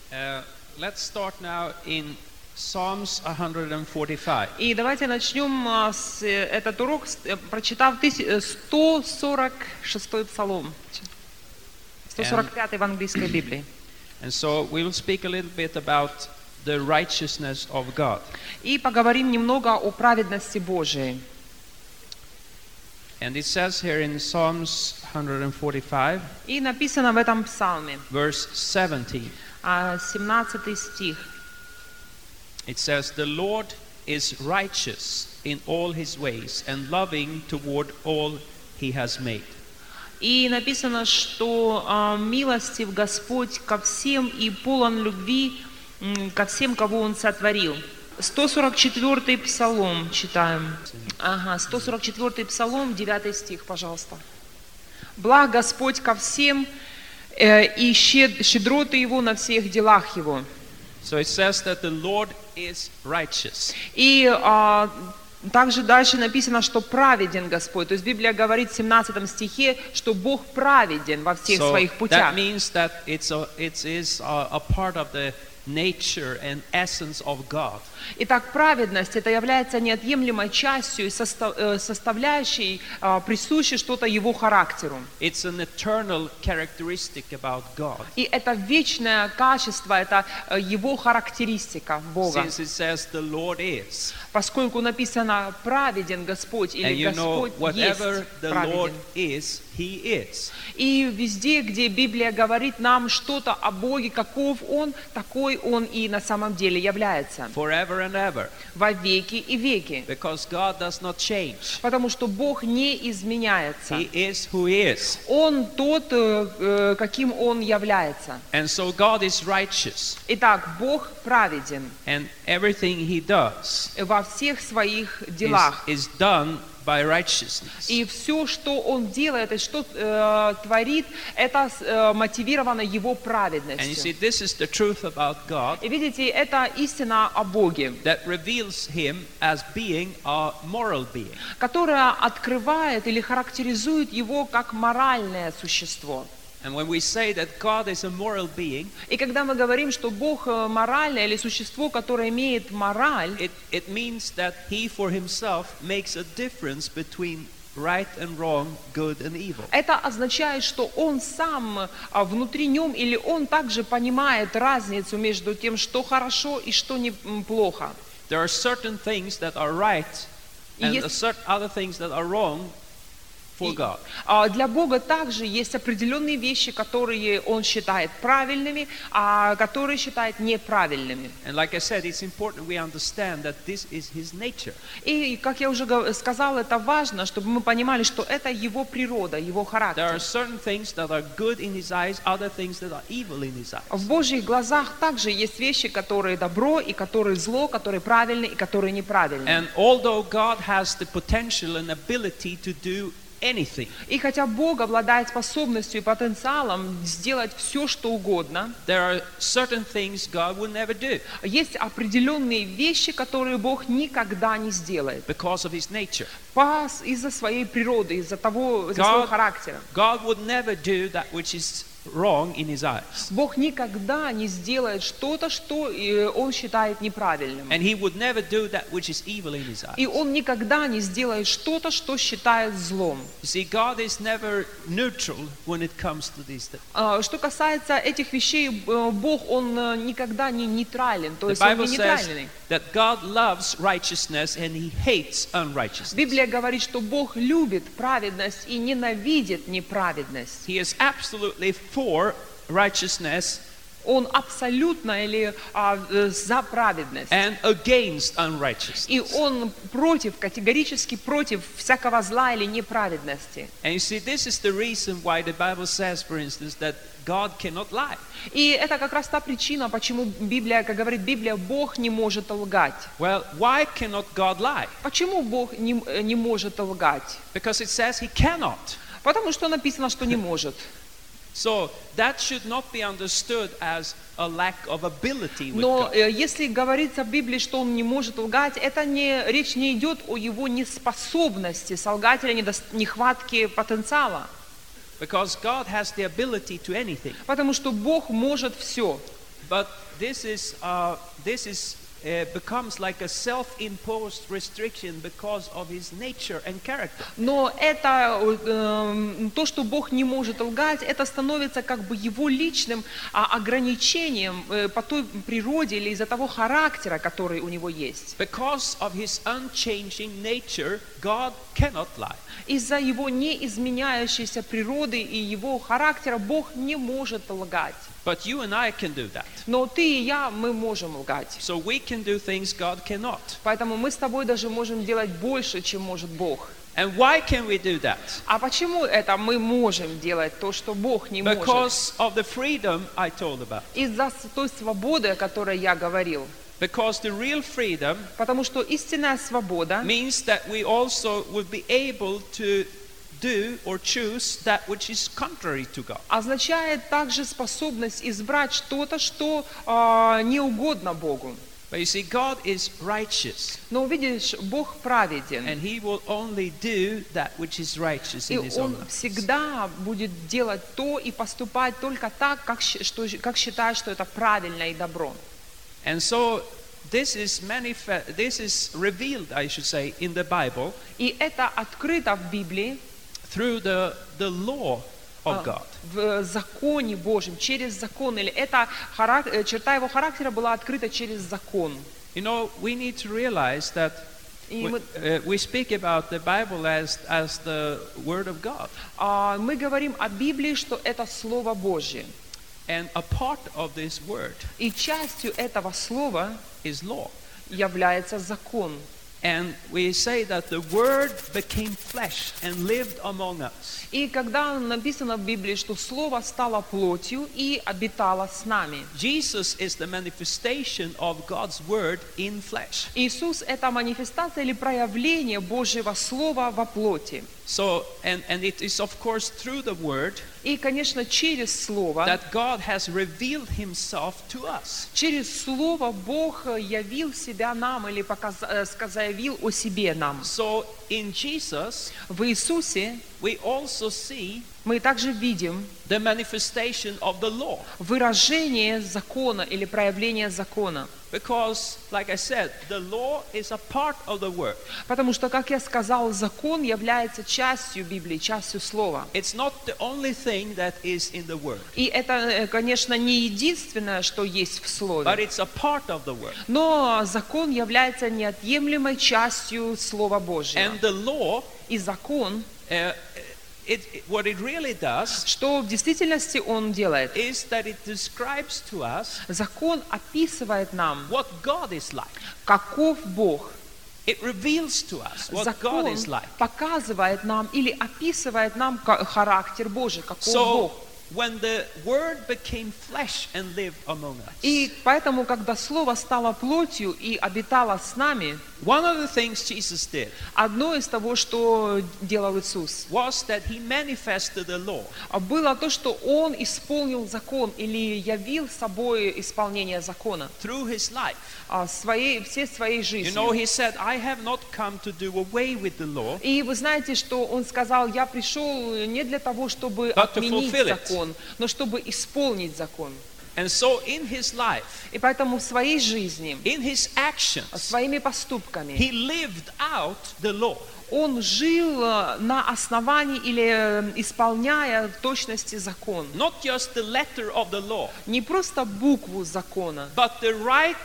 Let's start now in Psalms 145. И давайте начнем этот урок, прочитав 146-й псалом, 145-й в английской Библии. And so we will speak a little bit about the righteousness of God. И поговорим немного о праведности Божией. And it says here in Psalms 145, И написано в этом псалме, verse 17, 17 стих. it says, "The Lord is righteous in all his ways and loving toward all he has made." И написано, что милостив Господь ко всем и полон любви ко всем, кого Он сотворил. 144-й псалом читаем. 144-й псалом, 9 стих, пожалуйста. «Благ Господь ко всем, и щедроты Его на всех делах Его». So it says that the Lord is righteous. И также дальше написано, что праведен Господь. То есть Библия говорит в 17 стихе, что Бог праведен во всех своих путях. That means that it is a part of the nature and essence of God. Итак, праведность это является неотъемлемой частью и составляющей, присущей что-то Его характеру. It's an eternal characteristic about God. И это вечное качество, это Его характеристика Бога. Since it says the Lord is. Поскольку написано праведен Господь или Господь есть праведен. He is. И везде, где Библия говорит нам что-то о Боге, каков Он, такой Он и на самом деле является. Forever and ever. Во веки и веки. Because God does not change. Потому что Бог не изменяется. He is who he is. Он тот, каким Он является. And so God is righteous. Итак, Бог праведен. And everything he does во всех своих делах. is done by righteousness. И все, что Он делает, и что творит, это мотивировано Его праведностью. And you see, this is the truth about God. И видите, это истина о Боге, that reveals him as being a moral being. которая открывает или характеризует Его как моральное существо. And when we say that God is a moral being, и когда мы говорим, что Бог моральное или существо, которое имеет мораль, it means that he for himself makes a difference between right and wrong, good and evil. Это означает, что Он сам внутри нем или Он также понимает разницу между тем, что хорошо и что плохо. There are certain things that are right and certain other things that are wrong. Для Бога также есть определенные вещи, которые Он считает правильными, а которые считает неправильными. И, как я уже сказал, это важно, чтобы мы понимали, что это Его природа, Его характер. В Божьих глазах также есть вещи, которые добро, и которые зло, которые правильные, и которые неправильные. And although God has the potential and ability to do anything. И хотя Бог обладает способностью и потенциалом сделать все, что угодно, there are certain things God will never do. Есть определенные вещи, которые Бог никогда не сделает. Because of his nature. Из-за своей природы, из-за своего характера. God would never do that which is wrong in his eyes. Бог никогда не сделает что-то, что Он считает неправильным. And he would never do that which is evil in his eyes. И Он никогда не сделает что-то, что считает злом. You see, God is never neutral when it comes to these things. Что касается этих вещей, Бог, Он никогда не нейтрален, то есть Он не нейтральный. That God loves righteousness and he hates unrighteousness. Библия говорит, что Бог любит праведность и ненавидит неправедность. He is absolutely for righteousness. Он абсолютно или за праведность. And against unrighteousness. И он категорически против всякого зла или неправедности. And you see, this is the reason why the Bible says, for instance, that God cannot lie. И это как раз та причина, почему Библия, как говорит Библия, Бог не может лгать. Well, why cannot God lie? Почему Бог не может лгать? Because it says he cannot. Потому что написано, что не может. So that should not be understood as a lack of ability with Но God. если говорится в Библии, что он не может лгать, речь не идет о его неспособности солгать или нехватке потенциала. Because God has the ability to anything. Потому что Бог может все. But this becomes like a self-imposed restriction because of his nature and character. Но это то, что Бог не может лгать, это становится как бы его личным ограничением по той природе или из-за того характера, который у него есть. Because of his unchanging nature, God cannot lie. Из-за его неизменяющейся природы и его характера Бог не может лгать. But you and I can do that. Но ты и я, мы можем лгать. So we can do things God cannot. Поэтому мы с тобой даже можем делать больше, чем может Бог. And why can we do that? А почему это мы можем делать то, что Бог не может? Because of the freedom I told about. Из-за той свободы, о которой я говорил. Because the real freedom Потому что истинная свобода means that we also would be able to do or choose that which is contrary to God. означает также способность избрать что-то, что не угодно Богу. But you see, God is righteous, Но видишь, Бог праведен. and He will only do that which is righteous И in His own Он eyes. всегда будет делать то и поступать только так, как считает, что это правильно и добро. And so this is revealed, I should say, in the Bible И это открыто в Библии, through the law of God. в законе Божьем, через закон. Или это черта его характера была открыта через закон. You know, we need to realize that И we speak about the Bible as the Word of God. мы говорим о Библии, что это Слово Божье. And a part of this Word И частью этого слова is law. является закон. And we say that the Word became flesh and lived among us. И когда написано в Библии, что Слово стало плотью и обитало с нами. Jesus is the manifestation of God's Word in flesh. Иисус – это манифестация или проявление Божьего Слова во плоти. So, and it is of course through the Word И, конечно, через Слово, that God has revealed Himself to us. через Слово Бог явил себя нам или заявил о себе нам. So in Jesus, В Иисусе we also see мы также видим the manifestation of the law. выражение закона или проявление закона. Because, like I said, the law is a part of the Word. Потому что, как я сказал, закон является частью Библии, частью Слова. It's not the only thing that is in the Word, И это, конечно, не единственное, что есть в but Слове. it's a part of the Word. Но закон является неотъемлемой частью Слова Божьего. And the law, И закон, what it really does что в действительности он делает? is that it describes to us Закон описывает нам, what God is like. каков Бог. It reveals to us what God Закон is like. показывает нам или описывает нам характер Божий, каков So, Бог. when the Word became flesh and lived among us, И поэтому, когда Слово стало плотью и обитало с нами, one of the things Jesus did одно из того, что делал Иисус, was that He manifested the law было то, что Он исполнил закон или явил собой исполнение закона through His life. всей своей You know, жизнью. He said, I have not come to do away with the law, И вы знаете, что Он сказал: я пришел не для того, чтобы But to отменить fulfill it. закон, но чтобы исполнить закон. and so in His life, И поэтому в своей жизни, in His actions, своими поступками, He lived out the law. Он жил на основании или исполняя в точности закон. Not just the letter of the law, Не просто букву закона, but the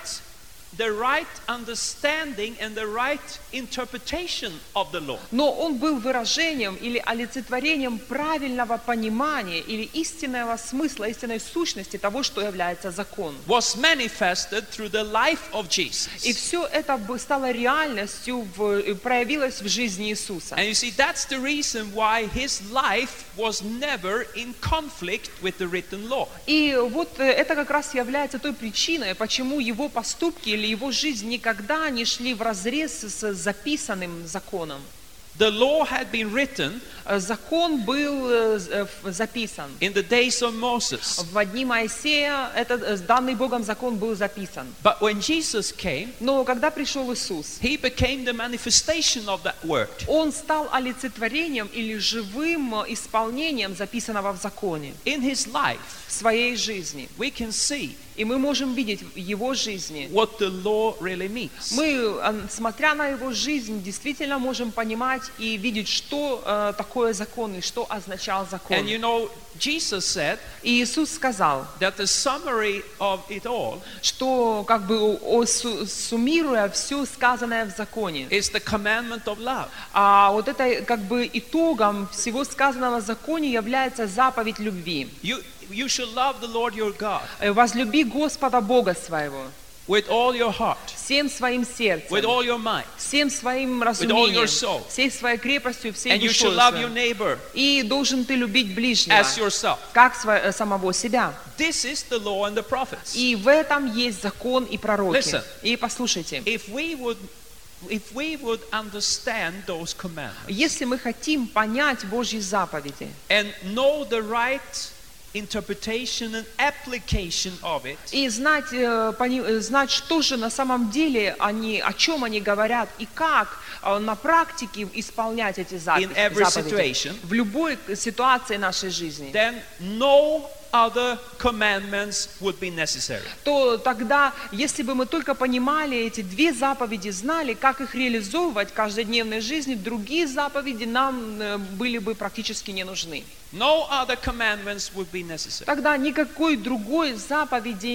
right understanding and the right interpretation of the law. но он был выражением или олицетворением правильного понимания или истинного смысла, истинной сущности того, что является закон. Was manifested through the life of Jesus. И все это стало реальностью, проявилось в жизни Иисуса. And you see, that's the reason why His life was never in conflict with the written law. И вот это как раз является той причиной, почему его поступки или его жизнь никогда не шли вразрез с записанным законом. The law had been written Закон был записан. in the days of Moses. В дни Моисея этот данный Богом закон был записан. But when Jesus came, Но когда пришел Иисус, He became the manifestation of that word. Он стал олицетворением или живым исполнением записанного в законе In His life, в своей жизни. we can see и мы можем видеть в его жизни. what the law really means. Мы, смотря на его жизнь, действительно можем понимать и видеть, что такое закон и что означал закон. And you know, Jesus said И Иисус сказал, that the summary of it all что как бы суммируя все сказанное в законе, is the commandment of love. а вот это как бы итогом всего сказанного в законе является заповедь любви. You should love the Lord your God Возлюби Господа Бога своего with all your heart, всем своим сердцем, with all your might, всем своим all разумением, your soul. всей своей крепостью, всей and you душой should love your своей. neighbor И должен ты любить ближнего, as yourself. как самого себя. This is the law and the prophets. И в этом есть закон и пророки. Listen. И послушайте, If we would understand those commandments если мы хотим понять Божьи заповеди and know the right interpretation and application of it, и знать, что же на самом деле о чем они говорят и как на практике исполнять эти in every заповеди situation, в любой ситуации нашей жизни, then no other commandments would be necessary. то тогда, если бы мы только понимали эти две заповеди, знали, как их реализовывать в каждодневной жизни, другие заповеди нам были бы практически не нужны. No other commandments would be necessary. Тогда никакой другой заповеди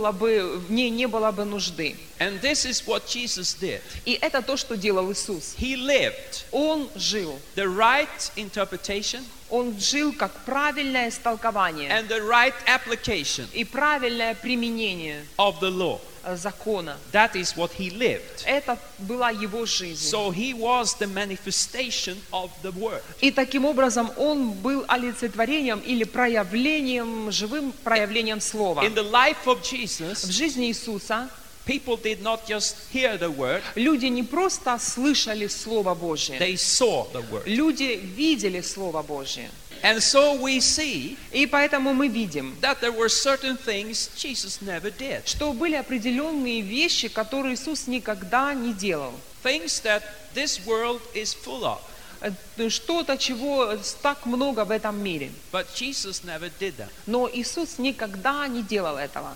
в ней не было бы нужды. And this is what Jesus did. И это то, что делал Иисус. He lived Он жил. the right interpretation Он жил как правильное истолкование and the right application и правильное применение of the law. закона. That is what he lived. Это была его жизнь. So he was the manifestation of the word. И таким образом он был олицетворением или проявлением, живым проявлением слова. In the life of В Jesus, жизни Иисуса people did not just hear the word, люди не просто слышали Слово Божье, they saw the word. люди видели Слово Божье. And so we see И поэтому мы видим, that there were certain things Jesus never did. что были определенные вещи, которые Иисус никогда не делал. Things that this world is full of. Что-то, чего так много в этом мире. But Jesus never did that. Но Иисус никогда не делал этого.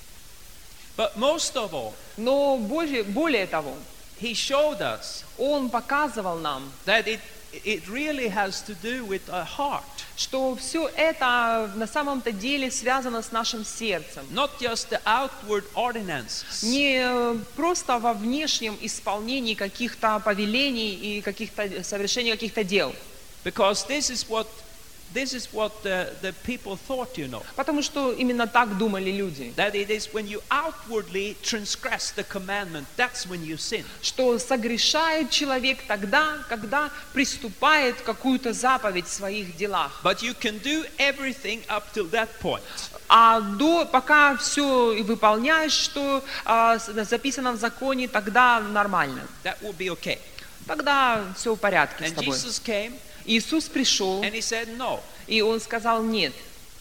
But most of all, Но более того, he showed us Он показывал нам, that it really has to do with our heart. что все это на самом-то деле связано с нашим сердцем. Not just the outward ordinances. Не просто во внешнем исполнении каких-то повелений и совершении каких-то дел. Because this is what the people thought, you know. Потому что именно так думали люди. That it is when you outwardly transgress the commandment, that's when you sin. Что согрешает человек тогда, когда приступает какую-то заповедь в своих делах. But you can do everything up till that point. А пока все выполняешь, что записано в законе, тогда нормально. That will be okay. Тогда все в порядке с And тобой. Jesus came Иисус пришел, and he said, no. и Он сказал: нет,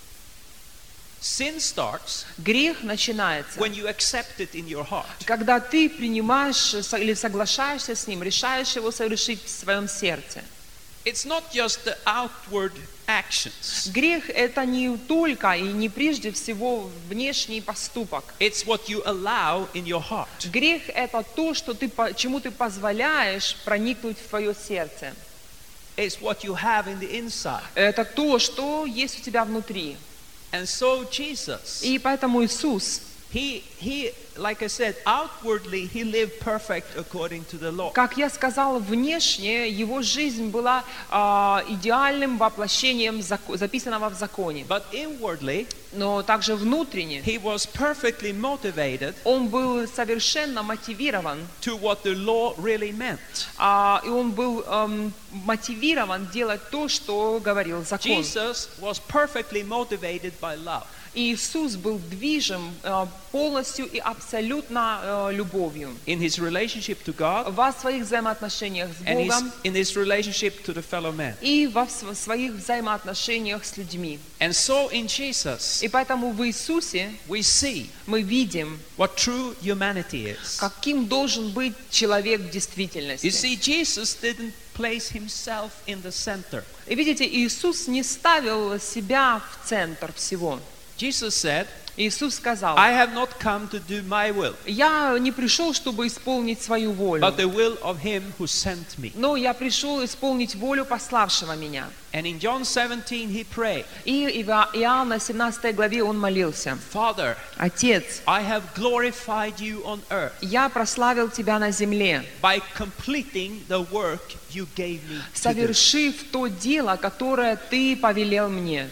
Sin starts грех начинается, when you accept it in your heart. когда ты принимаешь или соглашаешься с Ним, решаешь его совершить в своем сердце. It's not just the outward actions. Грех — это не только и не прежде всего внешний поступок. It's what you allow in your heart. Грех — это то, чему ты позволяешь проникнуть в твое сердце. It's what you have in the inside. Это то, что есть у тебя внутри. And so Jesus, И поэтому Иисус, he, like I said, outwardly he lived perfect according to the law. как я сказала, внешне его жизнь была идеальным воплощением записанного в законе. But inwardly, Но также внутренне he was perfectly motivated он был совершенно мотивирован, to what the law really meant. и он был мотивирован делать то, что говорил закон. Jesus was perfectly motivated by love. И Иисус был движим полностью и абсолютно любовью In his relationship to God во своих взаимоотношениях с and Богом in his relationship to the fellow man. и во своих взаимоотношениях с людьми. And so in Jesus И поэтому в Иисусе we see мы видим, what true humanity is. каким должен быть человек в You действительности. see, Jesus didn't place himself in the center. И видите, Иисус не ставил себя в центр всего. Jesus said, Иисус сказал: I have not come to do my will, «Я не пришел, чтобы исполнить свою волю, but the will of him who sent me. но я пришел исполнить волю пославшего меня». And in John 17 he prayed, И в Иоанна 17 главе он молился: Father, «Отец, I have glorified you on earth я прославил Тебя на земле, by completing the work you gave me to do. совершив то дело, которое Ты повелел мне».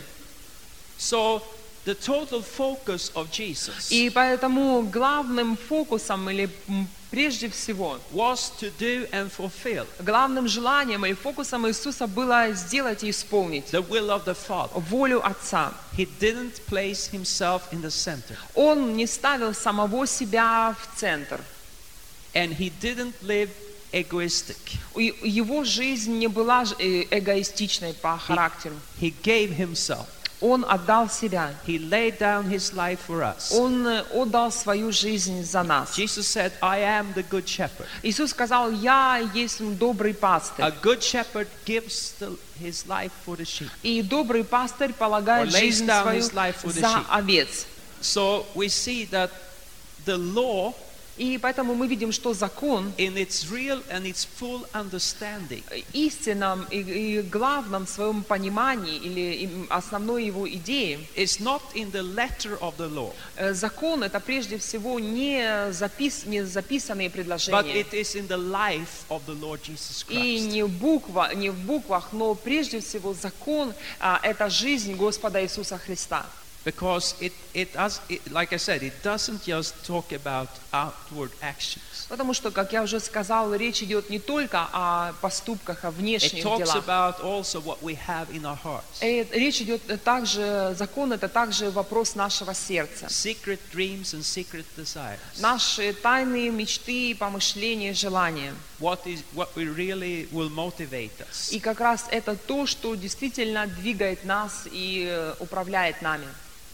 So the total focus of Jesus И поэтому главным фокусом или прежде всего was to do and fulfill главным желанием или фокусом Иисуса было сделать и исполнить the will of the Father. волю Отца. He didn't place himself in the center, Он не ставил самого себя в центр. and he didn't live egoistic. Его жизнь не была эгоистичной по характеру. He gave himself. Он отдал себя. He laid down his life for us. Он отдал свою жизнь за нас. Jesus said, I am the good shepherd. Иисус сказал: «Я есть добрый пастырь». A good shepherd gives his life for the sheep. И добрый пастырь полагает Or lays жизнь down свою his life for the за sheep. овец. So we see that the law, И поэтому мы видим, что закон in its real and its full understanding, истинном и главном своем понимании или основной его идее, is not in the letter of the law, закон — это прежде всего не записанные but предложения. it is in the life of the Lord Jesus И Christ. не в буквах, но прежде всего закон — это жизнь Господа Иисуса Христа. Because like I said, it doesn't just talk about outward actions. Потому что, как я уже сказал, речь идет не только о поступках, о It внешних talks делах. about also what we have in our hearts. Речь идет также, закон — это также вопрос нашего сердца. Secret dreams and secret desires. Наши тайные мечты, помышления, желания. What really will motivate us. И как раз это то, что действительно двигает нас и управляет нами.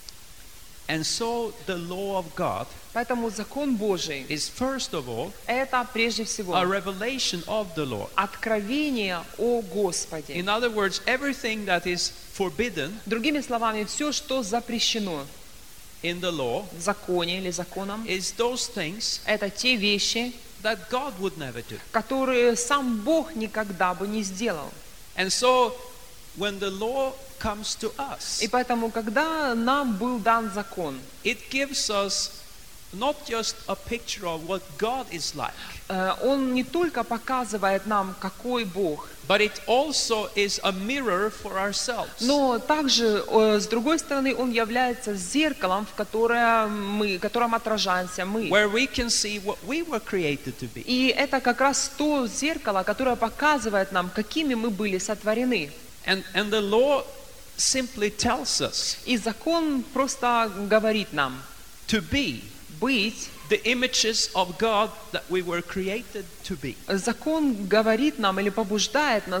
And so the law of God Поэтому закон Божий is first of all — это прежде всего a revelation of the Lord. откровение о Господе. In other words, everything that is forbidden Другими словами, все, что запрещено in the law в законе или законом, is those things это те вещи, that God would never do. которые сам Бог никогда бы не сделал. And so when the law comes to us, И поэтому, когда нам был дан закон, it gives us not just a picture of what God is like, он не только показывает нам, какой Бог, but it also is a mirror for ourselves. но также, с другой стороны, он является зеркалом, в котором отражаемся мы. Where we can see what we were created to be. И это как раз то зеркало, которое показывает нам, какими мы были сотворены. And the law simply tells us И закон просто говорит нам to be быть. the images of God that we were created to be. Закон говорит нам или побуждает нас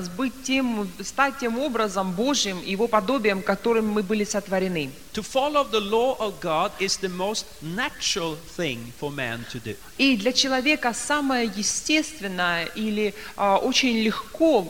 стать тем образом Божьим, Его подобием, которым мы были сотворены. To follow the law of God is the most natural thing for man to do. И для человека самое естественное или очень легко,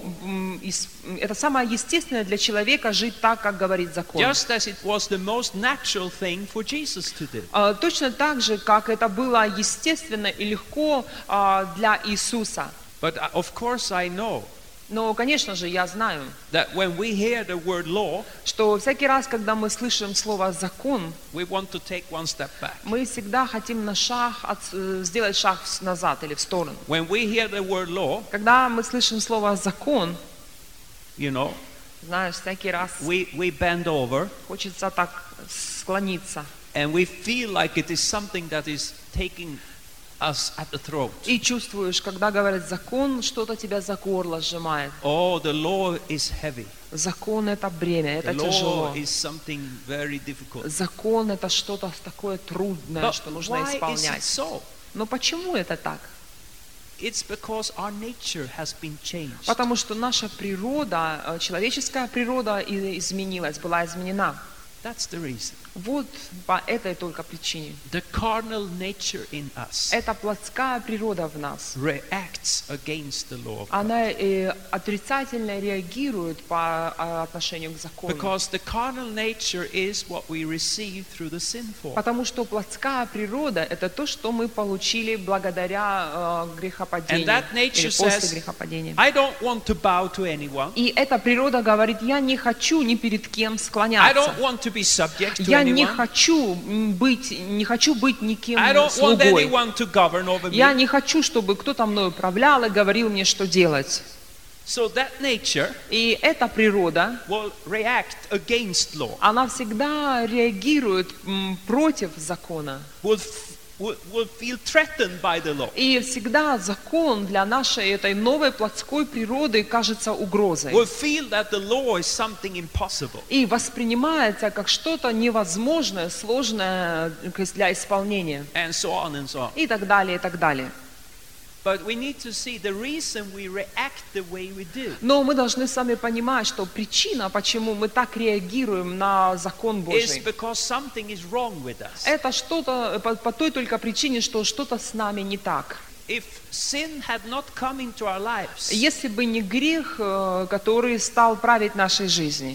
это самое естественное для человека жить так, как говорит закон. Just as it was the most natural thing for Jesus to do. Точно так же, как это было естественно и легко для Иисуса. But of course I know Но, конечно же, я знаю, that when we hear the word law, что всякий раз, когда мы слышим слово «закон», we want to take one step back. мы всегда хотим сделать шаг назад или в сторону. When we hear the word law, Когда мы слышим слово «закон», you know, знаешь, всякий раз we bend over хочется так склониться. and we feel like it is something that is taking us at the throat. И чувствуешь, когда говорят «закон», что-то тебя за горло сжимает. Oh, the law is heavy. Закон — это бремя, это The law тяжело. is something very difficult. Закон — это что-то такое трудное, But что нужно why is it исполнять. so? Но почему это так? It's because our nature has been changed. Потому что наша природа, человеческая природа изменилась, была изменена. That's the reason. Вот по этой только причине. The carnal nature in us Эта плотская природа в нас. reacts against the law of God. Она отрицательно реагирует по отношению к закону. Because the carnal nature is what we receive through the sinful. Потому что плотская природа – это то, что мы получили благодаря грехопадению, And that nature или после says, грехопадения. I don't want to bow to anyone. И эта природа говорит, я не хочу ни перед кем I склоняться. don't want to be subject to Я не anyone. хочу быть никем I don't want слугой. anyone to govern over Я me. не хочу, чтобы кто-то мною управлял и говорил мне, что делать. So that nature И эта природа, will react against law. она всегда реагирует против закона. Will feel threatened by the law. И всегда закон для нашей этой новой плотской природы кажется угрозой. Will feel that the law is something impossible. И воспринимается как что-то невозможное, сложное для исполнения. And so on and so on. И так далее, и так далее. But we need to see the reason we react the way we do Но мы должны сами понимать, что причина, почему мы так реагируем на закон is Божий, because something is wrong with us. это что-то по той только причине, что что-то с нами не так. If sin had not come into our lives, Если бы не грех, который стал править нашей жизнью,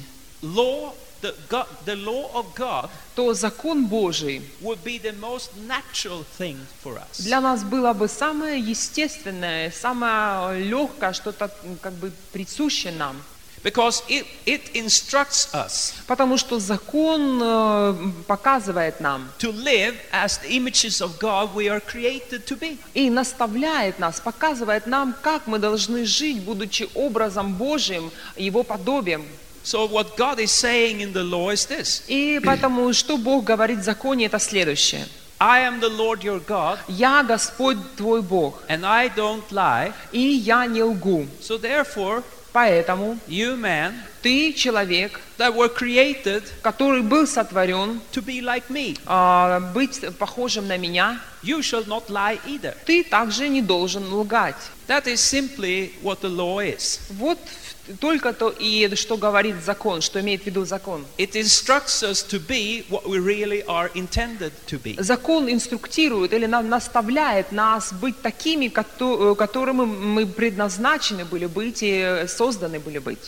the law of God то закон Божий would be the most natural thing for us. для нас было бы самое естественное, самое легкое, что-то как бы присуще нам. Because it instructs us Потому что закон показывает нам to live as the images of God we are created to be. и наставляет нас, показывает нам, как мы должны жить, будучи образом Божьим, Его подобием. So what God is saying in the law is this: И поэтому, что Бог говорит в законе, это следующее. I am the Lord your God, «Я Господь твой Бог, and I don't lie. и я не лгу». So therefore, Поэтому you man ты человек, that were created который был сотворен to be like me, быть похожим на меня, you shall not lie either. ты также не должен лгать. That is simply what the law is. Вот только то и что говорит закон, что имеет в виду закон. It instructs us to be what we really are intended to be. Закон инструктирует или наставляет нас быть такими, которыми мы предназначены были быть и созданы были быть.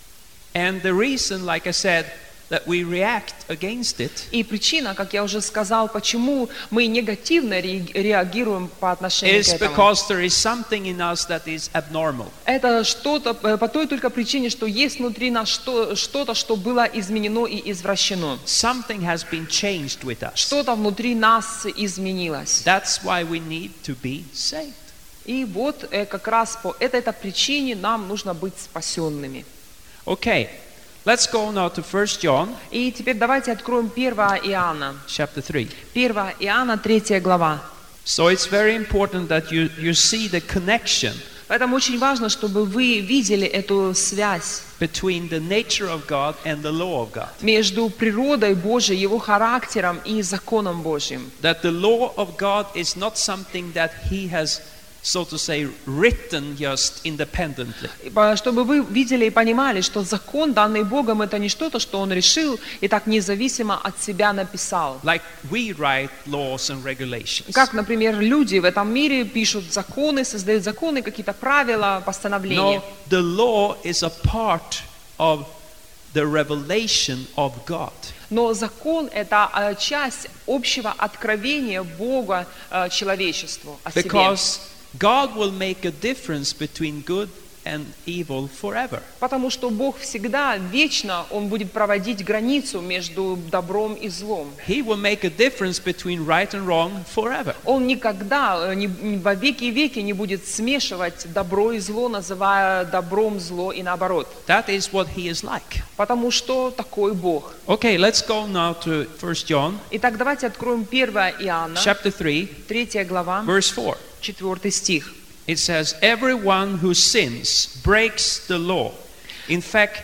And the reason, like I said, that we react against it И причина, как я уже сказал, почему мы негативно реагируем по отношению к is этому, because there is something in us that is abnormal. это что-то по той только причине, что есть внутри нас что-то, что было изменено и извращено. Something has been changed with us. Что-то внутри нас изменилось. That's why we need to be saved. И вот как раз по этой причине нам нужно быть спасенными. Okay, let's go now to 1 John И теперь давайте откроем 1 Иоанна. chapter 3. 1 Иоанна, 3 глава. So it's very important that you see the connection Поэтому очень важно, чтобы вы видели эту связь between the nature of God and the law of God. между природой Божией, Его характером и законом Божьим. That the law of God is not something that He has, so to say, written just independently. Чтобы вы видели и понимали, что закон, данный Богом, это не что-то, что Он решил и так независимо от себя написал. Like we write laws and regulations. Как, например, люди в этом мире пишут законы, создают законы, какие-то правила, постановления. No, the law is a part of the revelation of God. Но закон – это часть общего откровения Бога человечеству о себе. Because God will make a difference between good and evil forever. Потому что Бог всегда, вечно, Он будет проводить границу между добром и злом. He will make a difference between right and wrong forever. Он никогда, во веки и веки не будет смешивать добро и зло, называя добром зло и наоборот. That is what He is like. Потому что такой Бог. Okay, let's go now to 1 John Итак, давайте откроем 1 Иоанна, chapter 3, 3 глава, verse 4. 4 стих. It says, everyone who sins breaks the law. In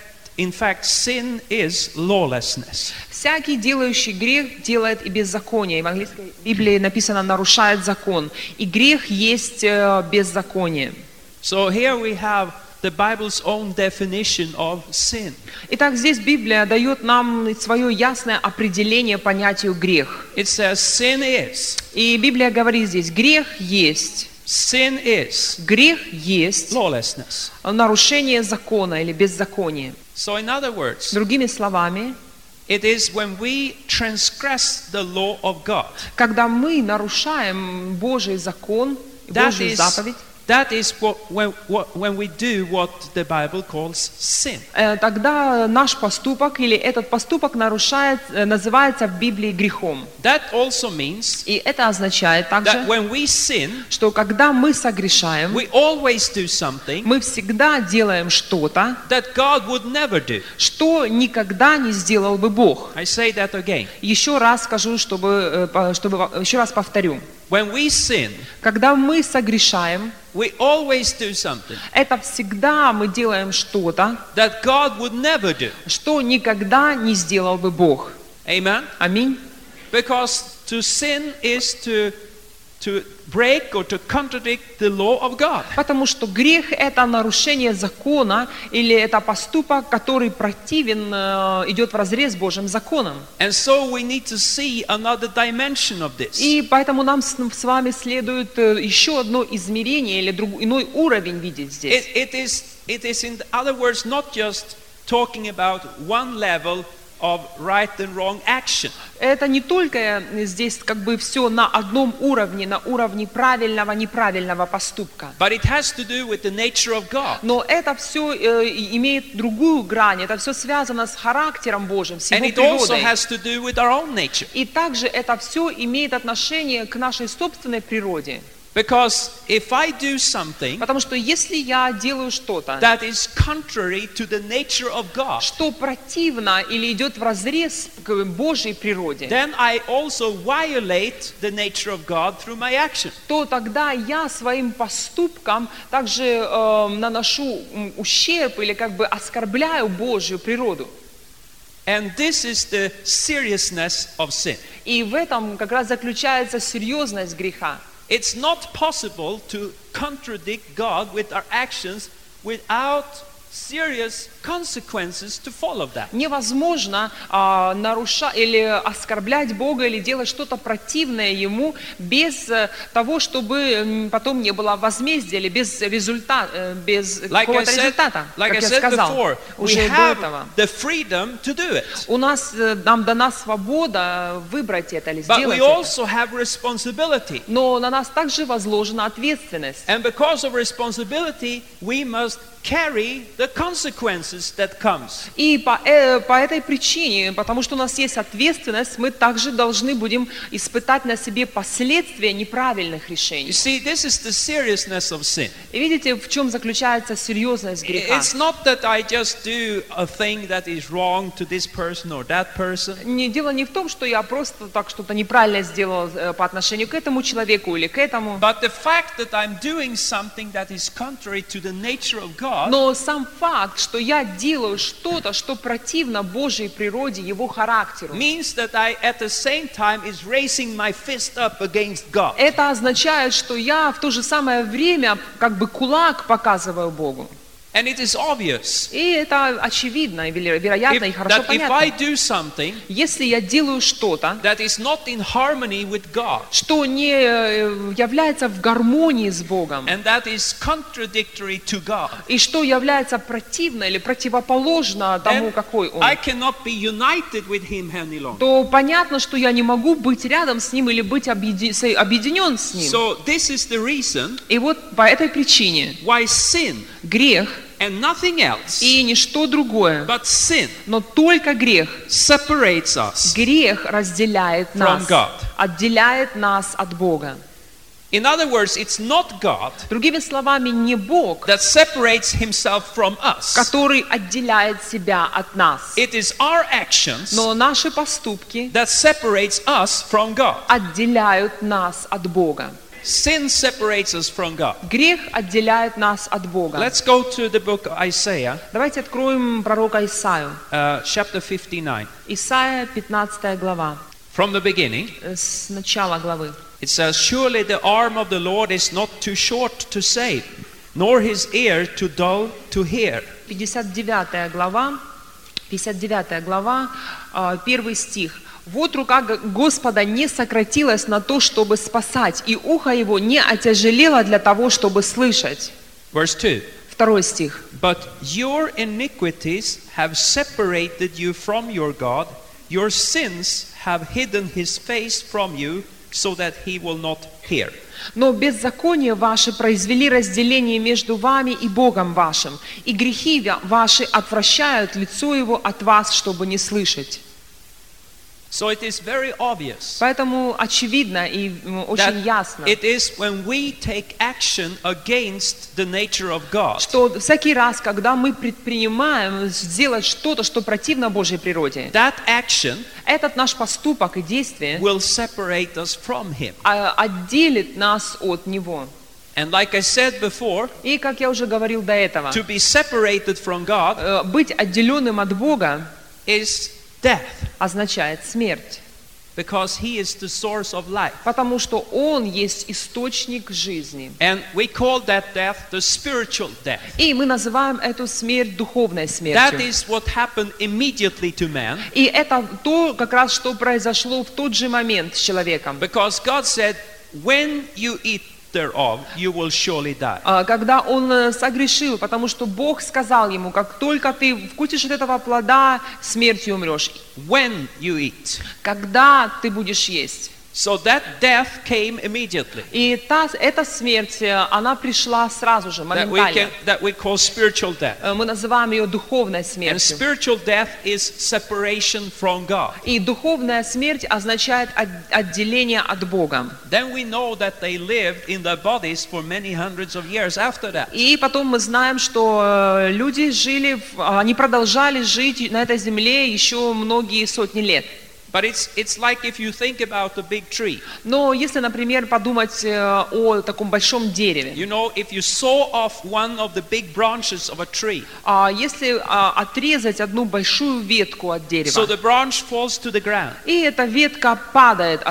fact, sin is lawlessness. Всякий, делающий грех, делает и беззаконие. В английской Библии написано «нарушает закон». И грех есть беззаконие. So here we have the Bible's own definition of sin. Итак, здесь Библия дает нам свое ясное определение понятию грех. It says sin is. И Библия говорит здесь, грех есть. Sin is Грех есть lawlessness. нарушение закона или беззаконие. So in other words, Другими словами, it is when we transgress the law of God. когда мы нарушаем Божий закон, Божью заповедь, That is when we do what the Bible calls sin. тогда наш поступок или этот поступок называется в Библии грехом. That also means И это означает также, that when we sin, что когда мы согрешаем, we always do something мы всегда делаем что-то, that God would never do. что никогда не сделал бы Бог. I say that again. Еще раз скажу, еще раз повторю. When we sin, Когда мы согрешаем, we always do something это всегда мы делаем что-то, that God would never do. что никогда не сделал бы Бог. Amen? Аминь. Because to sin is to break or to contradict the law of God. Потому что грех – это нарушение закона, или это поступок, который противен, идет вразрез с Божьим законом. And so we need to see another dimension of this. И поэтому нам с вами следует еще одно измерение или иной уровень видеть здесь. It is in other words not just talking about one level of right and wrong action. Это не только здесь как бы все на одном уровне, на уровне правильного, неправильного поступка. But it has to do with the nature of God. Но это все имеет другую грань, это все связано с характером Божьим, с And Его it also природой. has to do with our own nature. И также это все имеет отношение к нашей собственной природе. Because if I do something Потому что если я делаю что-то, that is contrary to the nature of God, что противно или идет вразрез к Божьей природе, then I also violate the nature of God through my action. то тогда я своим поступком также наношу ущерб или как бы оскорбляю Божью природу. And this is the seriousness of sin. И в этом как раз заключается серьезность греха. It's not possible to contradict God with our actions without serious consequences to follow that. Невозможно нарушать или оскорблять Бога или делать что-то противное Ему без того, чтобы потом не было возмездия или без результата, без какого-то результата, Like как I я said сказал, before, we уже до have этого. the freedom to do it. Нам дана свобода выбрать это или But сделать we это. also have responsibility. Но на нас также возложена ответственность. And because of responsibility, we must carry the consequences that comes. И по этой причине, потому что у нас есть ответственность, мы также должны будем испытать на себе последствия неправильных You решений. see, this is the seriousness of sin. И видите, в чем заключается серьезность греха? It's not that I just do a thing that is wrong to this person or that person. Дело не в том, что я просто так что-то неправильно сделал по отношению к этому человеку или к этому. But the fact that I'm doing something that is contrary to the nature of God Но сам факт, что я делаю что-то, что противно Божьей природе, Его характеру, means that I at the same time is raising my fist up against God. это означает, что я в то же самое время как бы кулак показываю Богу. And it is obvious И это очевидно, вероятно, и хорошо that if I понятно. do something Если я делаю что-то, that is not in harmony with God что не является в гармонии с Богом, and that is contradictory to God, и что является противно или противоположно тому, then какой Он, I cannot be united with Him any longer. то понятно, что я не могу быть рядом с Ним или быть объединен с Ним. So this is the reason И вот по этой причине why sin грех and nothing else и ничто другое, but sin но только грех. separates us. Грех разделяет нас, God. отделяет нас от Бога. In other words, it's not God Другими словами, не Бог, that separates Himself from us. который отделяет себя от нас, It is our actions но наши поступки that separates us from God. отделяют нас от Бога. Sin separates us from God. Грех отделяет нас от Бога. Let's go to the book of Isaiah, Давайте откроем пророка Исаию. chapter 59. Исаия, 15 глава, From the beginning, с начала главы. it says, "Surely the arm of the Lord is not too short to save, nor his ear too dull to hear. 59 глава, 1 стих. «Вот рука Господа не сократилась на то, чтобы спасать, и ухо его не отяжелело для того, чтобы слышать». Verse 2. 2 стих. But your iniquities have separated you from your God. Your sins have hidden his face from you, so that he will not hear. «Но беззакония ваши произвели разделение между вами и Богом вашим, и грехи ваши отвращают лицо его от вас, чтобы не слышать». So it is very obvious Поэтому очевидно и очень ясно, it is when we take action against the nature of God что всякий раз, когда мы предпринимаем сделать что-то, что противно Божьей природе, that action этот наш поступок и действие will separate us from him. отделит нас от Него. And like I said before, И, как я уже говорил до этого, to be separated from God быть отделенным от Бога is death, означает смерть, because he is the source of life. потому что Он есть источник жизни. And we call that death the spiritual death. И мы называем эту смерть духовной That смертью. is what happened immediately to man, И это то, как раз, что произошло в тот же момент с человеком. because God said, when you eat thereof, you will surely die. Когда он согрешил, потому что Бог сказал ему, как только ты вкусишь от этого плода, смертью умрешь. When you eat. Когда ты будешь есть. So that death came immediately. И эта смерть, она пришла сразу же, моментально. That we call spiritual death. Мы называем ее духовной And смертью. spiritual death is separation from God. И духовная смерть означает отделение от Бога. Then we know that they lived in their bodies for many hundreds of years after that. И потом мы знаем, что люди они продолжали жить на этой земле еще многие сотни лет. But it's like if you think about a big tree. Но если, например, подумать о таком большом дереве, You know, if you saw off one of the big branches of a tree, если отрезать одну большую ветку от so дерева, the branch falls to the ground, и эта ветка падает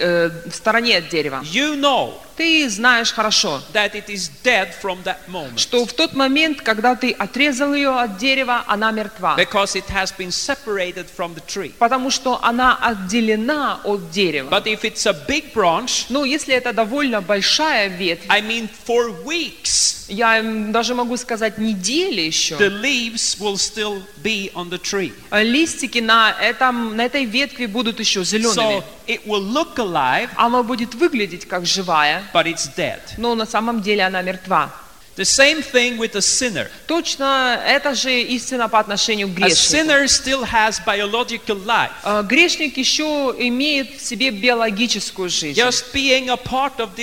в стороне от дерева, you know ты знаешь хорошо, that it is dead from that moment, что в тот момент, когда ты отрезал ее от дерева, она мертва, because it has been separated from the tree. потому что она отделена от дерева. But if it's a big branch, Но если это довольно большая ветвь, I mean for weeks, я даже могу сказать недели еще, the leaves will still be on the tree. листики на этой ветви будут еще зелеными. So it will look alive, Она будет выглядеть как живая, but it's dead. но на самом деле она мертва. The same thing with a sinner. Точно это же истина по отношению к A грешнику. sinner still has biological life. Грешник еще имеет в себе биологическую жизнь. Just being a part of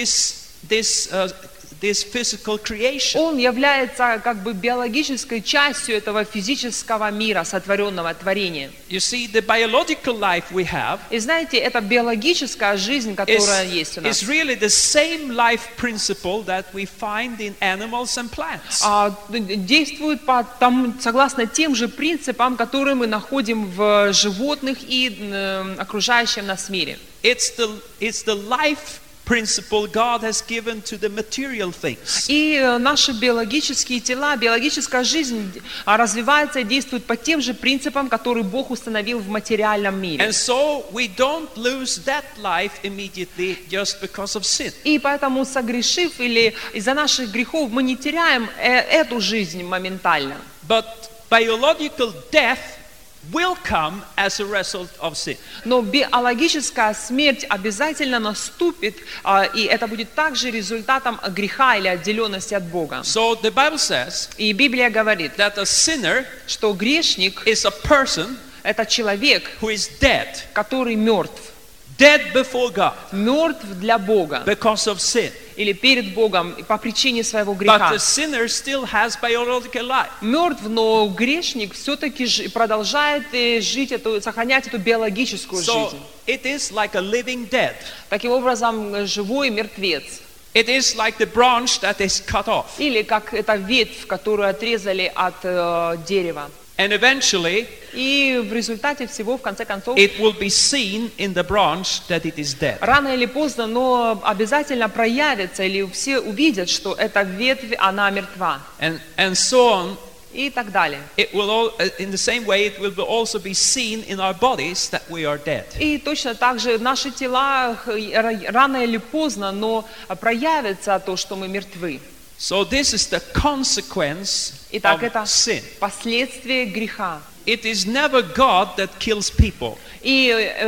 this physical creation. Он является как бы биологической частью этого физического мира, сотворенного творения. You see, the biological life we have И знаете, эта биологическая жизнь, которая есть у is нас, really the same life principle that we find in animals and plants. действует согласно тем же принципам, которые мы находим в животных и окружающем нас мире. It's the life principle God has given to the material things. И наши биологические тела, биологическая жизнь развивается и действует по тем же принципам, которые Бог установил в материальном мире. And so we don't lose that life immediately just because of sin. И поэтому, согрешив или из-за наших грехов, мы не теряем эту жизнь моментально. But biological death will come as a result of sin. Но биологическая смерть обязательно наступит, и это будет также результатом греха или отделенности от Бога. So the Bible says И Библия говорит, that a sinner что грешник is a person – это человек, who is dead который мертв. Dead before God Мертв для Бога because of sin. или перед Богом по причине своего But греха. the sinner still has biological life. Мертв, но грешник все-таки продолжает сохранять эту биологическую So жизнь. it is like a living dead. Таким образом, живой мертвец. It is like the branch that is cut off. Или как эта ветвь, которую отрезали от дерева. And eventually И в результате всего, в конце концов, it will be seen in the branch that it is dead. рано или поздно, но обязательно проявится, или все увидят, что эта ветвь, она мертва. And so on. И так далее. It will all, in the same way, it will also be seen in our bodies that we are dead. И точно так же наши тела рано или поздно, но проявится то, что мы мертвы. So this is the consequence Итак, of это sin. последствие греха. It is never God that kills people. И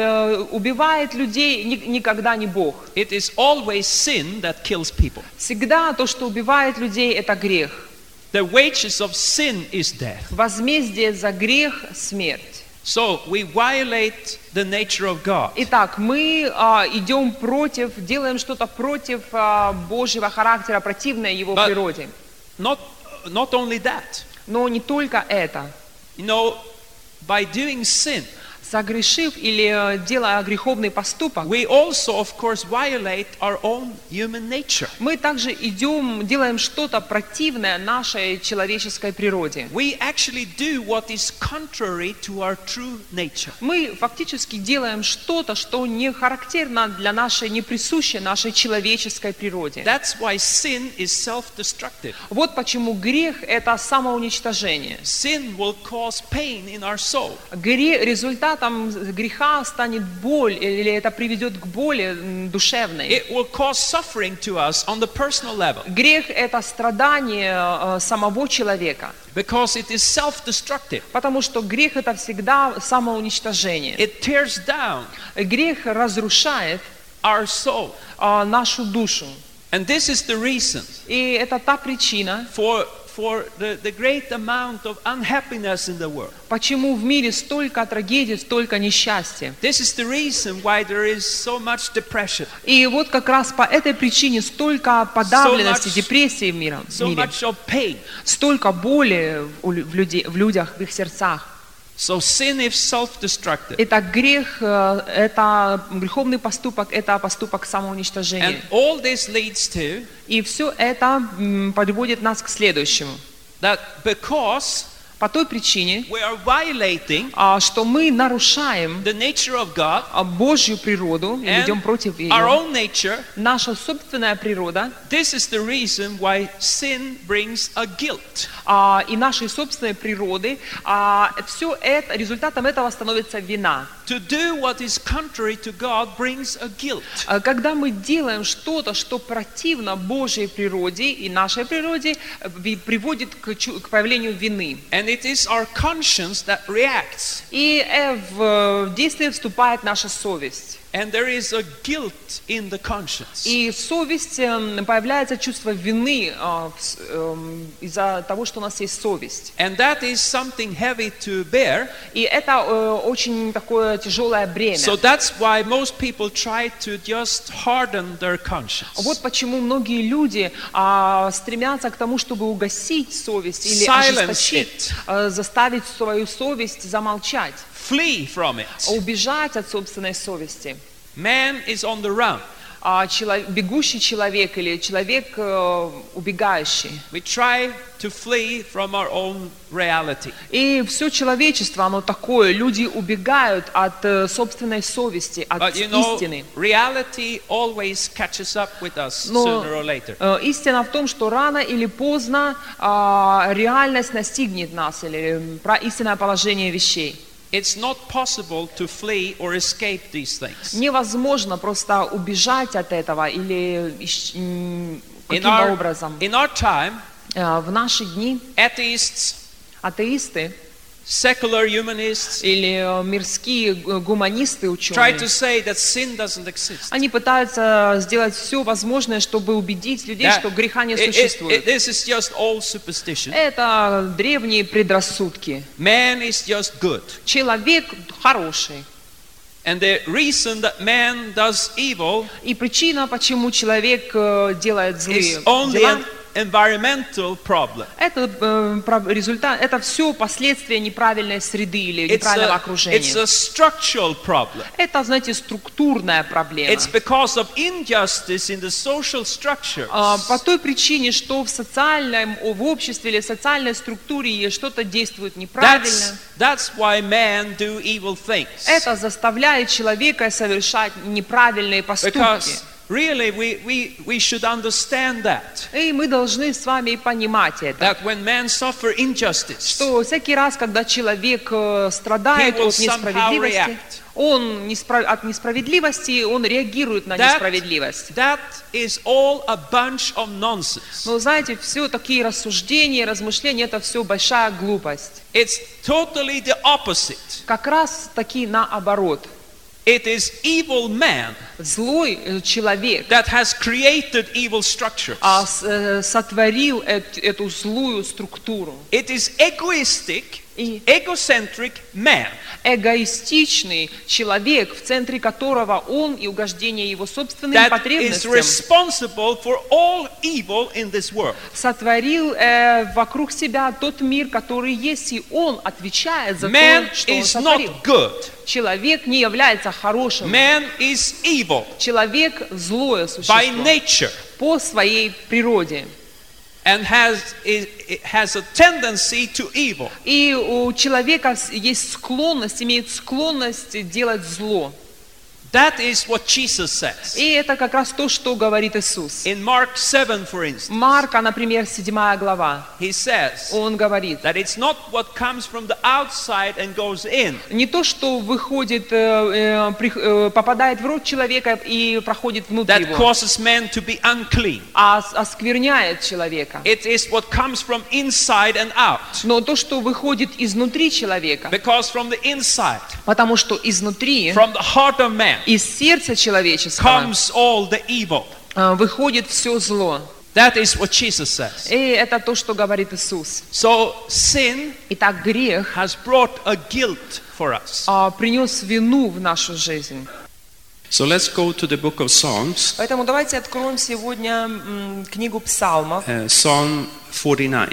убивает людей никогда не Бог. It is always sin that kills people. Всегда то, что убивает людей, это грех. The wages of sin is death. Возмездие за грех – смерть. So we violate the nature of God. Итак, мы идем против, делаем что-то против Божьего характера, противное Его But природе. Not only that. Но не только это. You know, by doing sin, Согрешив или делая греховный поступок, we also, of course, violate our own human nature. мы также делаем что-то противное нашей человеческой природе. We actually do what is contrary to our true nature. Мы фактически делаем что-то, что не характерно для нашей, не присуще нашей человеческой природе. That's why sin is self-destructive. Вот почему грех – это самоуничтожение. Sin will cause pain in our soul. Результатом греха станет боль, или это приведет к боли душевной. It will cause suffering to us on the personal level. Грех – это страдание самого человека. Because it is self-destructive. Потому что грех – это всегда самоуничтожение. It tears down Грех разрушает our soul. Нашу душу. And this is the reason И это та причина, for the great amount of unhappiness in the world. почему в мире столько трагедий, столько несчастья. This is the reason why there is so much depression. И вот как раз по этой причине столько подавленности, So much- депрессии в мире. So much of pain. Столько боли в людях, в их сердцах. So sin is self-destructive. Итак, грех, это греховный поступок, это поступок And самоуничтожения. all this leads to И все это подводит нас к следующему. that because По той причине, we are violating что мы нарушаем the nature of God Божью природу, и and идем против ее. our own nature, Наша собственная природа this is the reason why sin brings a guilt. и нашей собственной природы, все это, результатом этого становится вина. To do what is contrary to God brings a guilt. Когда мы делаем что-то, что противно Божьей природе и нашей природе, приводит к появлению вины. And it is our conscience that reacts. И в действие вступает наша совесть. And there is a guilt in the conscience. И совесть, появляется чувство вины из-за того, что у нас есть совесть. And that is something heavy to bear. И это очень такое тяжелое бремя. So that's why most people try to just harden their conscience. Вот почему многие люди стремятся к тому, чтобы угасить совесть или Silence ожесточить, заставить свою совесть замолчать, Flee from it. убежать от собственной совести. Man is on the run. Бегущий человек или человек убегающий. We try to flee from our own reality. И все человечество, оно такое. Люди убегают от собственной совести, от But you know, истины. reality always catches up with us Но sooner or later. Истина в том, что рано или поздно реальность настигнет нас, или истинное положение вещей. It's not possible to flee or escape these things. Невозможно просто убежать от этого или каким-то образом. In our time, В наши дни atheists, атеисты secular humanists или мирские гуманисты, try ученые, to say that sin doesn't exist. они пытаются сделать все возможное, чтобы убедить людей, что греха не существует. This is just old superstition. Это древние предрассудки. Man is just good. Человек хороший. And the reason that man does evil И причина, почему человек делает злые is only дела, environmental problem. Это результат, это все последствия неправильной среды или неправильного окружения. It's a structural problem. Это, знаете, структурная проблема. It's because of injustice in the social structures. По той причине, что в обществе или социальной структуре что-то действует неправильно. That's why men do evil things. Это заставляет человека совершать неправильные поступки. Because really we should understand that. И мы должны с вами понимать это. That when men suffer injustice, Что всякий раз, когда человек страдает he will от несправедливости, от несправедливости, он реагирует на несправедливость. That is all a bunch of nonsense. Но знаете, все такие рассуждения, размышления, это все большая глупость. It's totally the opposite. Как раз таки наоборот. It is evil man Злой человек that has created evil structures. Сотворил эту злую структуру. It is egocentric man. Эгоистичный человек, в центре которого он и угождение его собственным That is потребностям responsible for all evil in this world. сотворил вокруг себя тот мир, который есть, и он отвечает за Man то, что он is сотворил. not good. Человек не является хорошим. Man is evil Человек злое существо by nature по своей природе. and has a tendency to evil. И у человека есть склонность, имеет склонность делать зло. That is what Jesus says. И это как раз то, что говорит Иисус. In Mark 7, for instance, Марка, например, 7 глава. he says Он говорит, that it's not what comes from the outside and goes in. не то, что выходит, попадает в рот человека и проходит внутрь That его, causes men to be unclean. а оскверняет человека. It is what comes from inside and out. Но то, что выходит изнутри человека, Because from the inside, потому что изнутри, from the heart of man, из сердца человеческого comes all the evil. выходит все зло. That is what Jesus says. И это то, что говорит Иисус. So sin Итак, грех has brought a guilt for us. принес вину в нашу жизнь. So let's go to the book of Psalms, Поэтому давайте откроем сегодня книгу Псалмов, Psalm 49,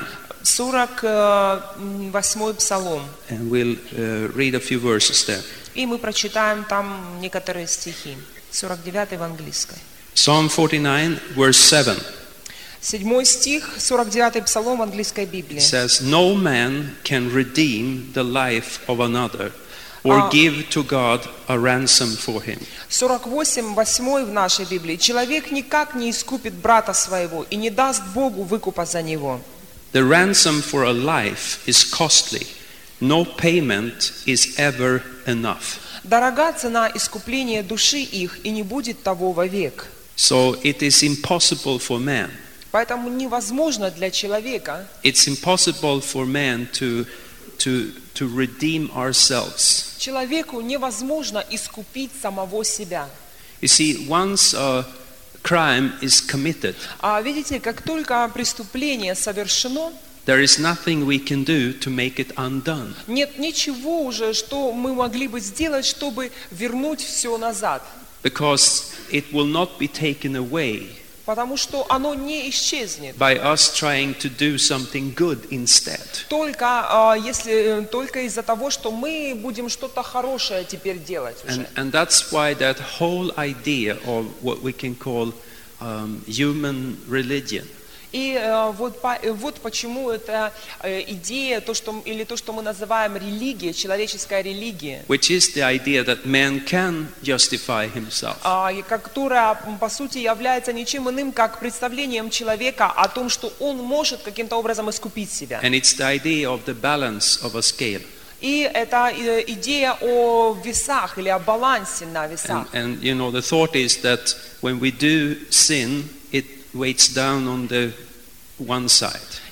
48-й Псалом. and we'll read a few verses there. И мы прочитаем там некоторые стихи. 49-й в английской. Psalm 49, verse 7 7 стих, 49-й Псалом в английской Библии. says, "No man can redeem the life of another, or give to God a ransom for him." 48-8 в нашей Библии. Человек никак не искупит брата своего и не даст Богу выкупа за него. The ransom for a life is costly. No payment is ever enough. Дорога цена искупления души их, и не будет того вовек. So it is impossible for man. Поэтому невозможно для человека, It's impossible for man to redeem ourselves. человеку невозможно искупить самого себя. You see, once a crime is committed, Видите, как только преступление совершено, there is nothing we can do to make it undone. нет ничего уже, что мы могли бы сделать, чтобы вернуть все назад. Because it will not be taken away Потому что оно не исчезнет. by us trying to do something good instead. Только из-за того, что мы будем что-то хорошее теперь делать уже. And that's why that whole idea of what we can call human religion И вот почему эта идея, то, что мы называем религией, человеческая религия, which is the idea that man can justify himself. которая по сути является ничем иным, как представлением человека о том, что он может каким-то образом искупить себя. And it's the idea of the balance of a scale. И это идея о весах или о балансе на весах. And you know, the thought is that when we do sin, it weights down on the one side.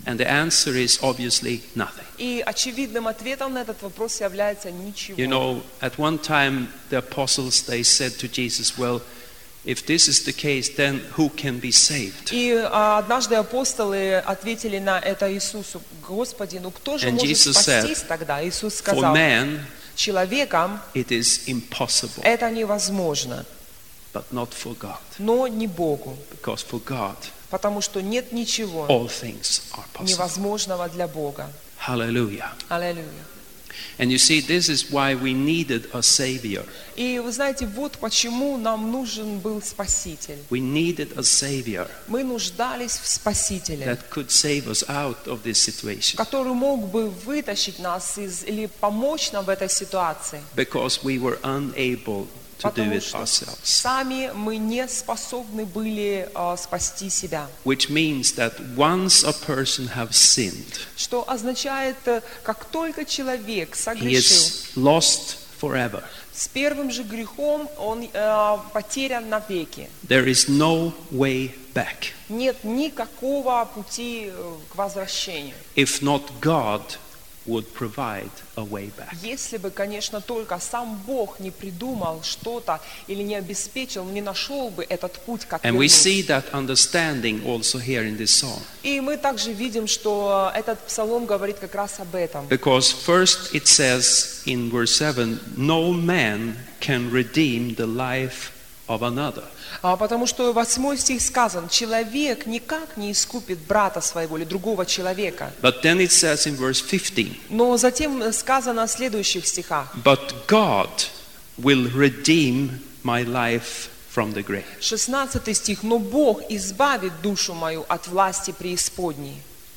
And the answer is obviously nothing. И очевидным ответом на этот вопрос является ничего. You know, at one time the apostles, they said to Jesus, well, if this is the case, then who can be saved? И однажды апостолы ответили на это Иисусу: Господи, ну кто же And может Jesus спастись said, тогда? Иисус For сказал: man, человеком it is impossible, это невозможно, but not for God. но не Богу, Because for God, потому что нет ничего all things are possible. невозможного для Бога. Hallelujah. Аллилуйя. And you see, this is why we needed a Savior. И вы знаете, вот почему нам нужен был Спаситель. We needed a Savior Мы нуждались в Спасителе, that could save us out of this situation. который мог бы вытащить нас или помочь нам в этой ситуации. Because we were unable to do Потому it что ourselves. сами мы не способны были спасти себя. Which means that once a person has sinned, Что означает, как только человек he согрешил, is lost forever. с первым же грехом он потерян навеки. There is no way back. Нет никакого пути к возвращению. If not God would provide a way back. Если бы, конечно, только сам Бог не придумал что-то или не обеспечил, не нашел бы этот путь, как And we вернуться. see that understanding also here in this psalm. И мы также видим, что этот псалом говорит как раз об этом. Because first it says in verse 7, no man can redeem the life of another. Потому что 8 стих сказан: человек никак не искупит брата своего или другого человека. But then it says in verse 15, Но затем сказано в следующих стихах: but God will redeem my life from the grave. 16 стих: но Бог избавит душу мою от власти преисподней.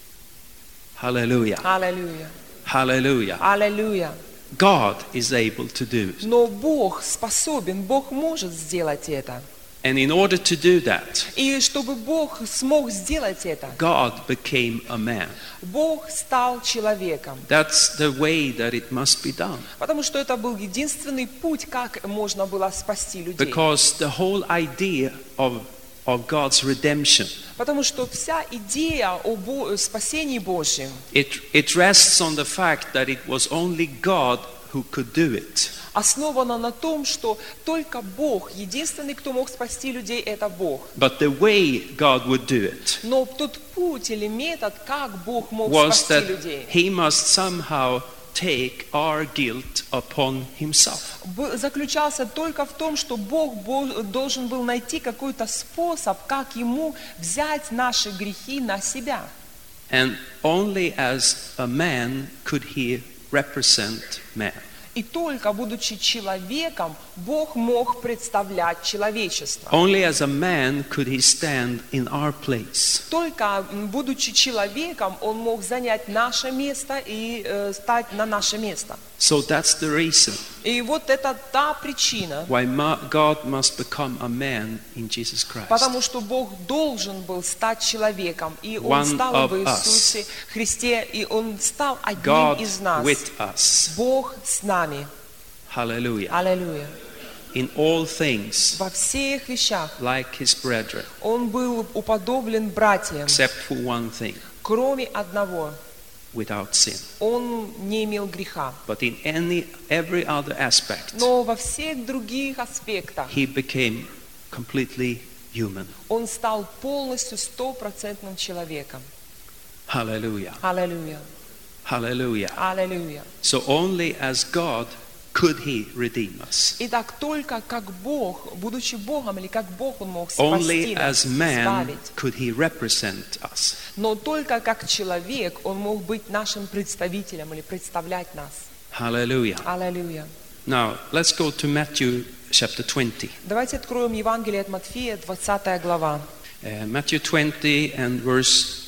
Hallelujah. Аллилуйя. Hallelujah. Аллилуйя. God is able to do it. Но Бог способен, Бог может сделать это. And in order to do that, И чтобы Бог смог сделать это, God became a man. Бог стал человеком. That's the way that it must be done. Потому что это был единственный путь, как можно было спасти людей. Because the whole idea of God's redemption, Потому что вся идея о спасении Божьем, it rests on the fact that it was only God who could do it. основана на том, что только Бог, единственный, кто мог спасти людей, это Бог. But the way God would do it Но тот путь или метод, как Бог мог was спасти that людей, He must somehow take our guilt upon Himself. заключался только в том, что Бог должен был найти какой-то способ, как Ему взять наши грехи на себя. And only as a man could He represent man. И только будучи человеком, Бог мог представлять человечество. Only as a man could He stand in our place. Только будучи человеком, Он мог занять наше место и стать на наше место. So that's the reason И вот это та причина, why God must become a man in Jesus Christ. потому что Бог должен был стать человеком, и Он One стал of в Иисусе Христе, и Он стал одним God из нас. with us. Бог с нами. Hallelujah. Аллилуйя. In all things, Во всех вещах like His brethren, Он был уподоблен братьям, except for one thing, кроме одного. without sin. Он не имел греха. But in every other aspect, Но во всех других аспектах He became completely human. Он стал полностью 100% человеком. Hallelujah. Аллилуйя. Hallelujah. Аллилуйя. So only as God could He redeem us. Итак, только как Бог, будучи Богом, или как Бог Он мог Only спасти нас, as man избавить. could He represent us. Но только как человек Он мог быть нашим представителем или представлять нас. Hallelujah. Аллилуйя. Now, let's go to Matthew chapter 20. Давайте откроем Евангелие от Матфея, 20 глава. Matthew 20 and verse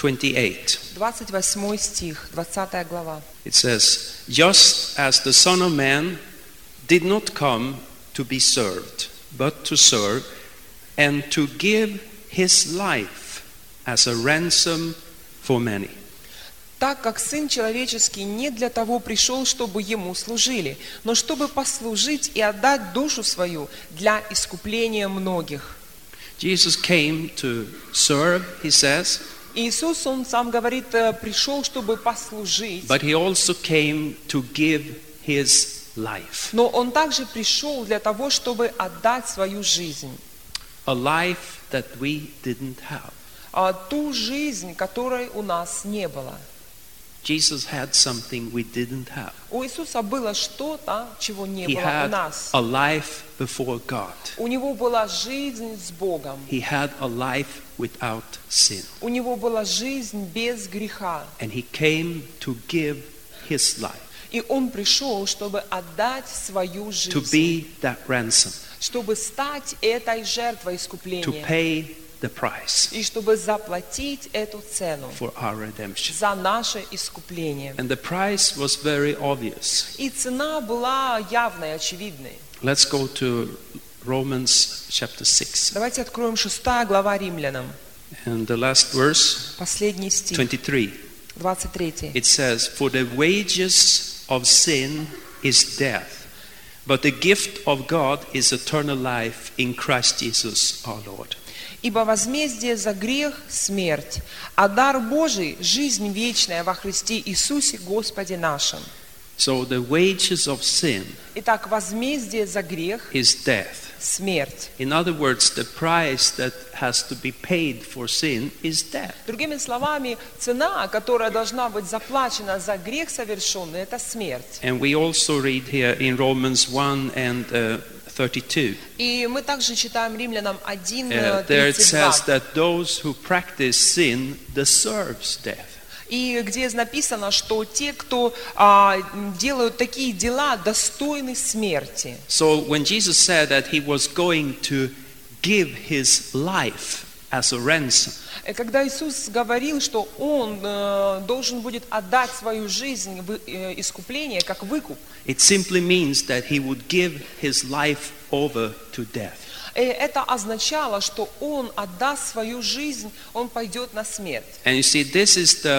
28. 28 стих, 20 глава. It says, just as the Son of Man did not come to be served, but to serve, and to give His life as a ransom for many. Так как Сын Человеческий не для того пришел, чтобы Ему служили, но чтобы послужить и отдать душу свою для искупления многих. Jesus came to serve, he says, Иисус, Он сам говорит, пришел, чтобы послужить. but he also came to give his life. Но Он также пришел для того, чтобы отдать свою жизнь. A life that we didn't have. Ту жизнь, которой у нас не было. Jesus had something we didn't have. У Иисуса было что-то, чего не He было у had нас. a life before God. У Него была жизнь с Богом. He had a life without sin. У Него была жизнь без греха. And he came to give his life, И Он пришел, чтобы отдать свою to жизнь. be that ransom, Чтобы стать этой жертвой to искупления. pay the price И чтобы заплатить эту цену for our redemption. за наше искупление. And the price was very obvious. И цена была явной, очевидной. Let's go to Romans chapter 6. Давайте откроем 6 глава Римлянам, And the last verse, последний стих, 23. 23. It says, "For the wages of sin is death, but the gift of God is eternal life in Christ Jesus our Lord." «Ибо возмездие за грех – смерть, а дар Божий – жизнь вечная во Христе Иисусе Господе нашим». So the wages of sin Итак, возмездие за грех is death. – смерть. In other words, the price that has to be paid for sin is death. Другими словами, цена, которая должна быть заплачена за грех совершенный – это смерть. And we also read here in Romans 1 and 32. И мы также читаем Римлянам 1, There it says 32. that those who practice sin deserves death. И где написано, что те, кто делают такие дела, достойны смерти. So when Jesus said that he was going to give his life as a ransom, И когда Иисус говорил, что Он должен будет отдать свою жизнь в искупление, как выкуп, it simply means that he would give his life over to death. это означало, что Он отдаст свою жизнь, Он пойдет на смерть. And you see, this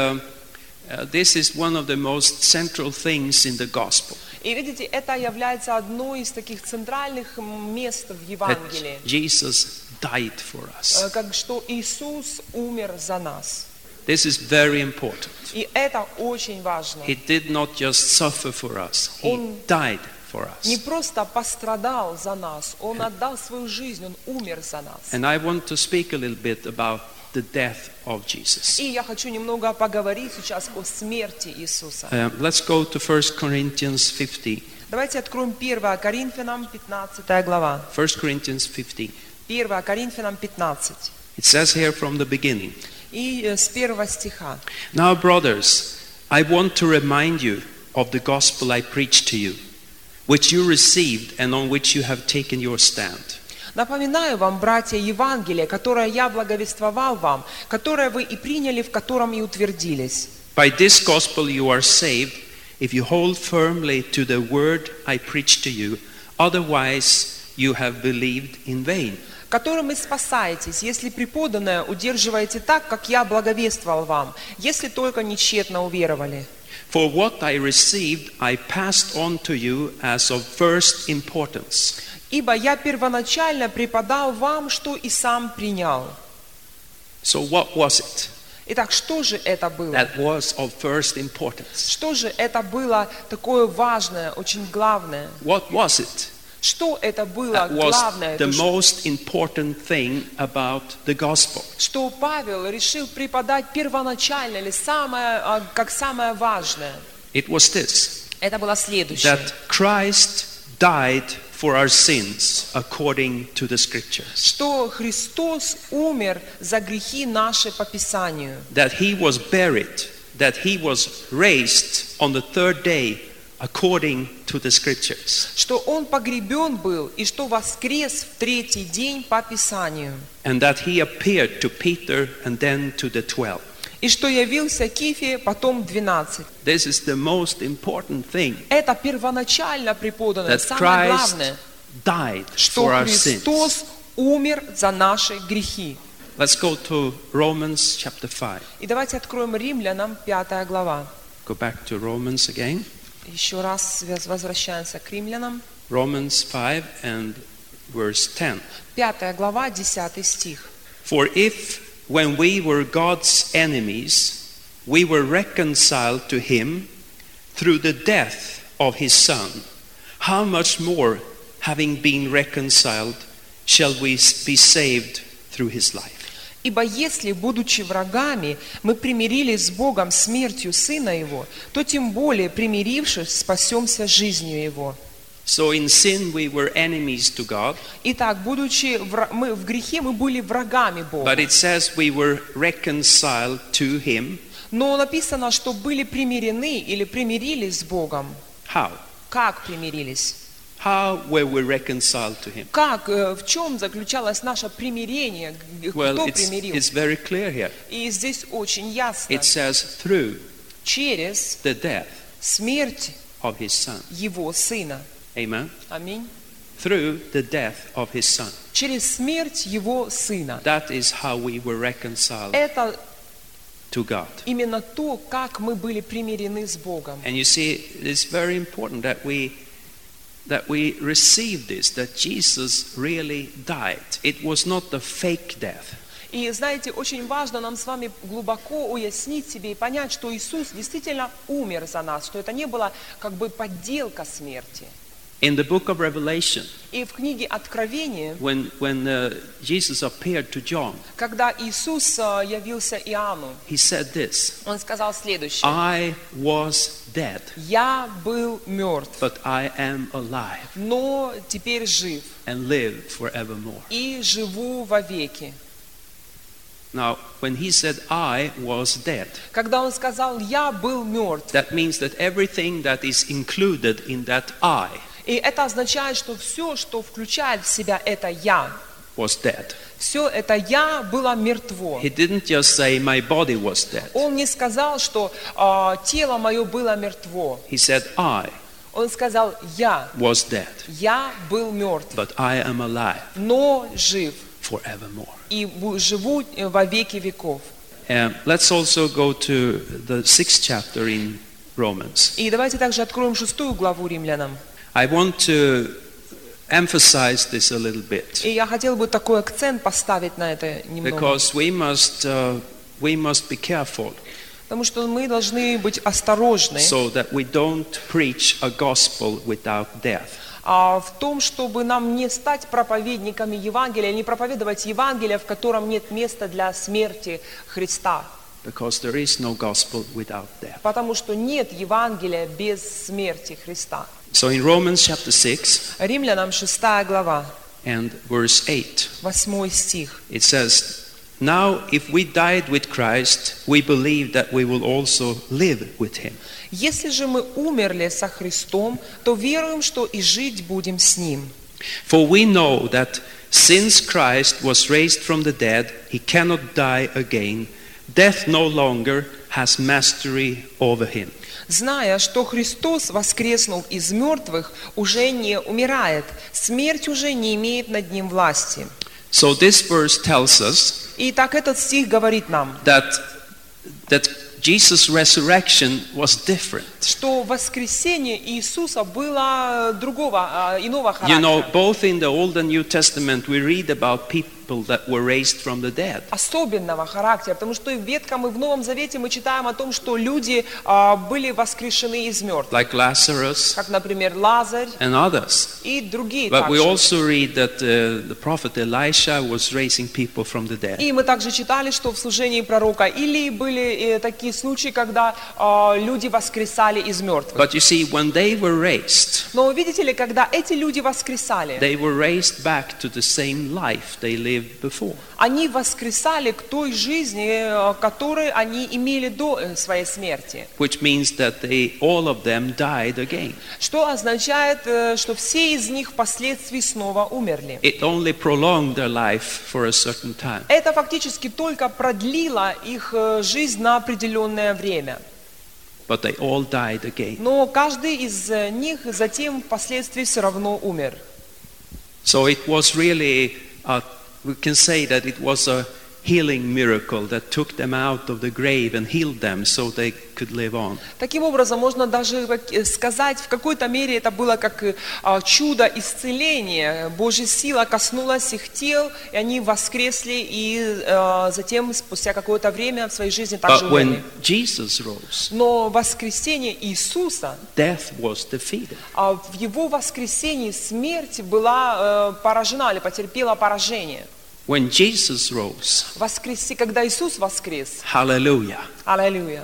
is one of the most central things in the gospel. И видите, это является одной из таких центральных мест в Евангелии, That Jesus died for us. как что Иисус умер за нас. This is very important. И это очень важно. He did not just suffer for us, he Он died for не us. просто пострадал за нас, Он отдал свою жизнь, Он умер за нас. And I want to speak a little bit about the death of Jesus. И я хочу немного поговорить сейчас о смерти Иисуса. Let's go to 1 Corinthians 15. Давайте откроем 1 Коринфянам 15 глава. 1 Corinthians 15. 1 Коринфянам 15. It says here from the beginning, И с 1 стиха. "Now, brothers, I want to remind you of the gospel I preached to you, which you received and on which you have taken your stand. Напоминаю вам, братья, Евангелие, которое я благовествовал вам, которое вы и приняли, в котором и утвердились. By this gospel you are saved, if you hold firmly to the word I preached to you, otherwise you have believed in vain." Которым и спасаетесь, если преподанное удерживаете так, как я благовествовал вам, если только нечетно уверовали. For what I received I passed on to you as of first importance. Ибо я первоначально преподал вам, что и сам принял. So what was it Итак, что же это было? that was of first importance? Что же это было такое важное, очень главное? What was it Что это было that was главное? the То, most important thing about the gospel? что Павел решил преподать первоначально или как самое важное. It was this, Это было следующее. that Christ died for our sins according to the scriptures. Что Христос умер за грехи наши по Писанию. That he was buried, that he was raised on the third day according to the scriptures. Что Он погребен был и что воскрес в третий день по Писанию. And that he appeared to Peter and then to the 12. И что явился Кифе, потом 12. This is the most important thing, Это первоначально преподанное, that самое Christ главное, died что for our sins. Христос умер за наши грехи. Let's go to Romans chapter 5. И давайте откроем Римлянам 5 глава. Go back to Romans again. Еще раз возвращаемся к Римлянам. Romans 5 and verse 10. 5 глава, 10 стих. For if when we were God's enemies, we were reconciled to him through the death of his Son. How much more, having been reconciled, shall we be saved through his life? Ибо если, будучи врагами, мы примирились с Богом смертью Сына Его, то тем более, примирившись, спасемся жизнью Его. So in sin we were enemies to God, Итак, будучи мы в грехе, мы были врагами Бога. but it says we were reconciled to him. Но написано, что были примирены или примирились с Богом. How? Как примирились? How were we reconciled to him? Как, в чем заключалось наше примирение? Well, Кто примирил? it's very clear here. И здесь очень ясно. It says through Через the death смерть of his Son. Его Сына. Amen. Аминь. Through the death of his Son. Через смерть Его Сына. That is how we were reconciled Это to God. именно то, как мы были примирены с Богом. And you see, it's very important that we receive this, that Jesus really died. It was not the fake death. И знаете, очень важно нам с вами глубоко уяснить себе и понять, что Иисус действительно умер за нас, что это не была как бы подделка смерти. In the book of Revelation, И в книге Откровения, when Jesus appeared to John, когда Иисус явился Иоанну, he said this: Он сказал следующее. I was dead, Я был мертв, but I am alive но теперь жив and live forevermore. и живу вовеки. Now, when he said I was dead, Когда Он сказал «Я был мертв», that means that everything that is included in that I и это означает, что все, что включает в себя это «Я», was dead. все это «Я» было мертво. He didn't just say my body was dead. Он не сказал, что тело мое было мертво. He said I Он сказал «Я». was dead, Я был мертв, but I am alive но жив forevermore. и живу во веки веков. Let's also go to the 6th chapter in Romans. И давайте также откроем 6 главу Римлянам. I want to emphasize this a little bit И я хотел бы такой акцент поставить на это немного. because we must be careful Потому что мы должны быть осторожны so that we don't preach a gospel without death. в том, чтобы нам не стать проповедниками Евангелия, не проповедовать Евангелие, в котором нет места для смерти Христа. Because there is no gospel without death. Потому что нет Евангелия без смерти Христа. So in Romans chapter 6 Римлянам 6 глава, and verse 8, 8 стих. it says, now if we died with Christ, we believe that we will also live with him. Если же мы умерли со Христом, то веруем, что и жить будем с Ним. For we know that since Christ was raised from the dead, he cannot die again. Death no longer has mastery over him. Зная, что Христос, воскреснув из мертвых, уже не умирает, смерть уже не имеет над Ним власти. So this verse tells us Итак, этот стих говорит нам, that Jesus' resurrection was different. что воскресение Иисуса было иного You know, характера. both in the Old and New Testament we read about people that were raised from the dead. Особенного характера, потому что и в Ветхом, и в Новом Завете мы читаем о том, что люди были воскрешены из мертвых, Like Lazarus как, например, Лазарь and others. и другие But we также. also read that the prophet Elisha was raising people from the dead. И мы также читали, что в служении пророка Илии были такие случаи, когда люди воскресали из мертвых. But you see, when they were raised, Но видите ли, когда эти люди воскресали, they were raised back to the same life they lived before. они воскресали к той жизни, которую они имели до своей смерти. Which means that all of them died again. Что означает, что все из них впоследствии снова умерли. It only prolonged their life for a certain time. Это фактически только продлило их жизнь на определенное время. But they all died again. Но каждый из них затем впоследствии все равно умер. So it was really, we can say that it was a healing miracle that took them out of the grave and healed them so they could live on. Таким образом, можно даже сказать, в какой-то мере это было как чудо исцеления. Божья сила коснулась их тел, и они воскресли, и затем, спустя какое-то время в своей жизни также But умерли. when Jesus rose, Но воскресение Иисуса, death was defeated. в Его воскресении смерть была поражена или потерпела поражение. When Jesus rose, Когда Иисус воскрес, hallelujah, аллилуйя,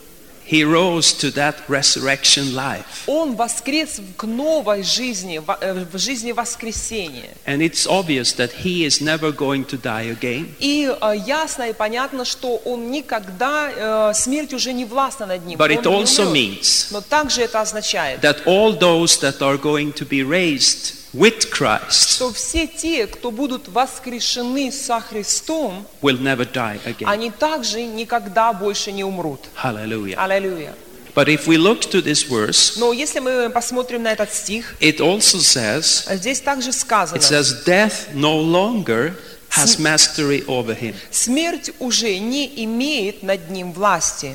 he rose to that resurrection life. Он воскрес к новой жизни, в жизни воскресения. And it's obvious that he is never going to die again. И ясно и понятно, что он никогда, смерть уже не властна над ним. But Он it не also умрет. means Но также это означает, that all those that are going to be raised with Christ что все те, кто будут воскрешены со Христом, will never die again. они также никогда больше не умрут. Hallelujah. Аллилуйя. But if we look to this verse, Но если мы посмотрим на этот стих, it also says, здесь также сказано, it says, death no longer has mastery over him. смерть уже не имеет над ним власти.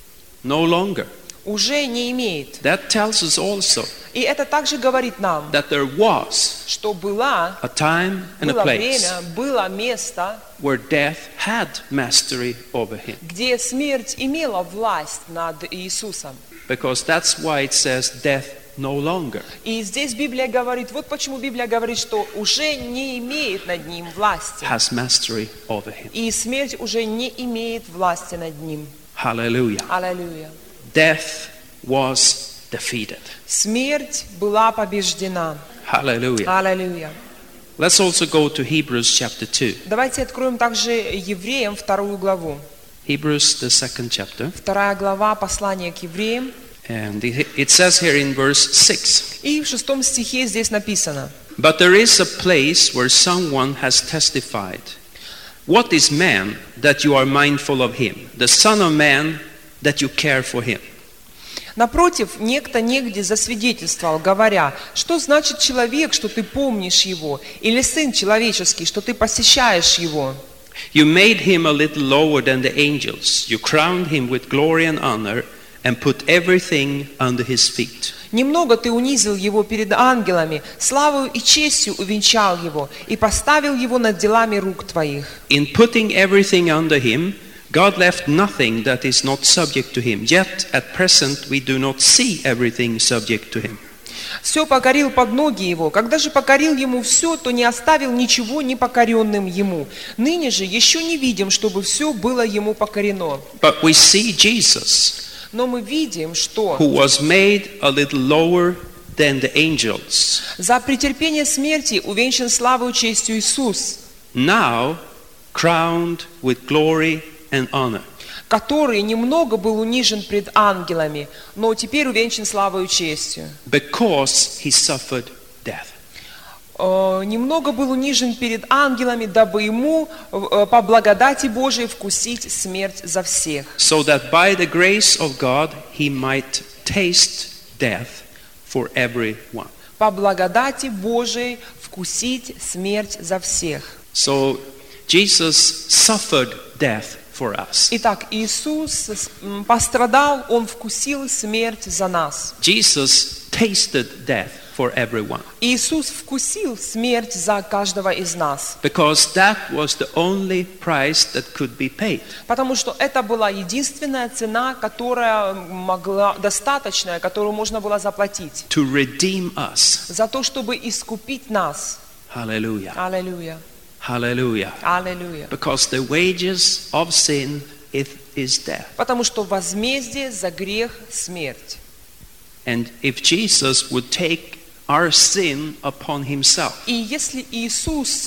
No longer. Уже не имеет. That tells us also И это также говорит нам, that there was что было a time and a было place время, было место, where death had mastery over him. где смерть имела власть над Иисусом. Because that's why it says death no longer. И здесь Библия говорит, вот почему Библия говорит, что уже не имеет над ним власти. Has mastery over him. И смерть уже не имеет власти над ним. Hallelujah. Аллилуйя. Death was defeated. Смерть была побеждена. Hallelujah. Аллилуйя. Let's also go to Hebrews chapter 2. Давайте откроем также Евреям 2 главу. Hebrews, the second chapter. 2 глава послания к Евреям. And it says here in verse 6, И в 6 стихе здесь написано: but there is a place where someone has testified. What is man that you are mindful of him? The Son of Man that you care for him. Напротив, некто негде засвидетельствовал, говоря, что значит человек, что ты помнишь его, или сын человеческий, что ты посещаешь его. You made him a little lower than the angels. You crowned him with glory and honor and put everything under his feet. Немного ты унизил его перед ангелами, славою и честью увенчал его и поставил его над делами рук твоих. In putting everything under him, God left nothing that is not subject to him. Yet at present we do not see everything subject to him. Все покорил под ноги его. Когда же покорил ему все, то не оставил ничего непокоренным ему. Ныне же еще не видим, чтобы все было ему покорено. But we see Jesus, Но мы видим, что who was made a little lower than the angels, за претерпение смерти увенчан славою и честью Иисус, now crowned with glory and honor. который немного был унижен пред ангелами, но теперь увенчан славою и честью. Because he suffered death. Немного был унижен перед ангелами, дабы ему по благодати Божией вкусить смерть за всех. So that by the grace of God he might taste death for everyone. По благодати Божией вкусить смерть за всех. So Jesus suffered death for us. Итак, Иисус пострадал, Он вкусил смерть за нас. Jesus tasted death for everyone. Иисус вкусил смерть за каждого из нас. Because that was the only price that could be paid. Потому что это была единственная цена, которая достаточная, которую можно было заплатить. To redeem us. За то, чтобы искупить нас. Hallelujah. Аллилуйя. Hallelujah. Аллилуйя. Because the wages of sin is death. Потому что возмездие за грех – смерть. And if Jesus would take our sin upon himself, И если Иисус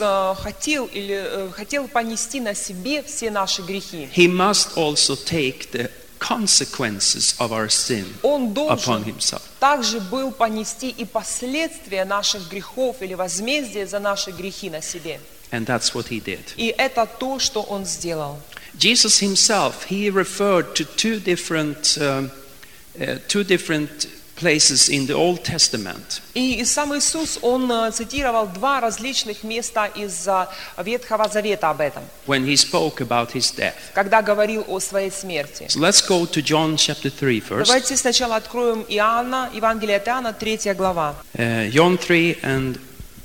хотел понести на себе все наши грехи, he must also take the consequences of our sin Он upon должен himself. также был понести и последствия наших грехов или возмездие за наши грехи на себе. And that's what he did. И это то, что Он сделал. Jesus himself, he referred to two different places in the Old Testament И сам Иисус, Он цитировал два различных места из Ветхого Завета об этом, when he spoke about his death. когда говорил о своей смерти. So let's go to John chapter 3 first. Давайте сначала откроем Иоанна, Евангелие от Иоанна, 3 глава. John 3 and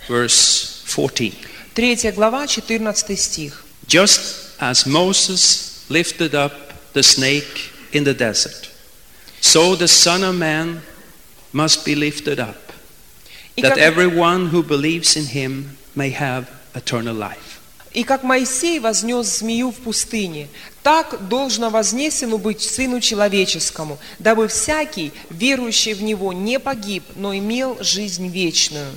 verse 14. 3 глава, 14 стих. Just as Moses lifted up the snake in the desert, so the Son of Man must be lifted up, И that как, everyone who believes in him may have eternal life. и как Моисей вознес змею в пустыне, так должно вознесено быть Сыну Человеческому, дабы всякий, верующий в Него, не погиб, но имел жизнь вечную.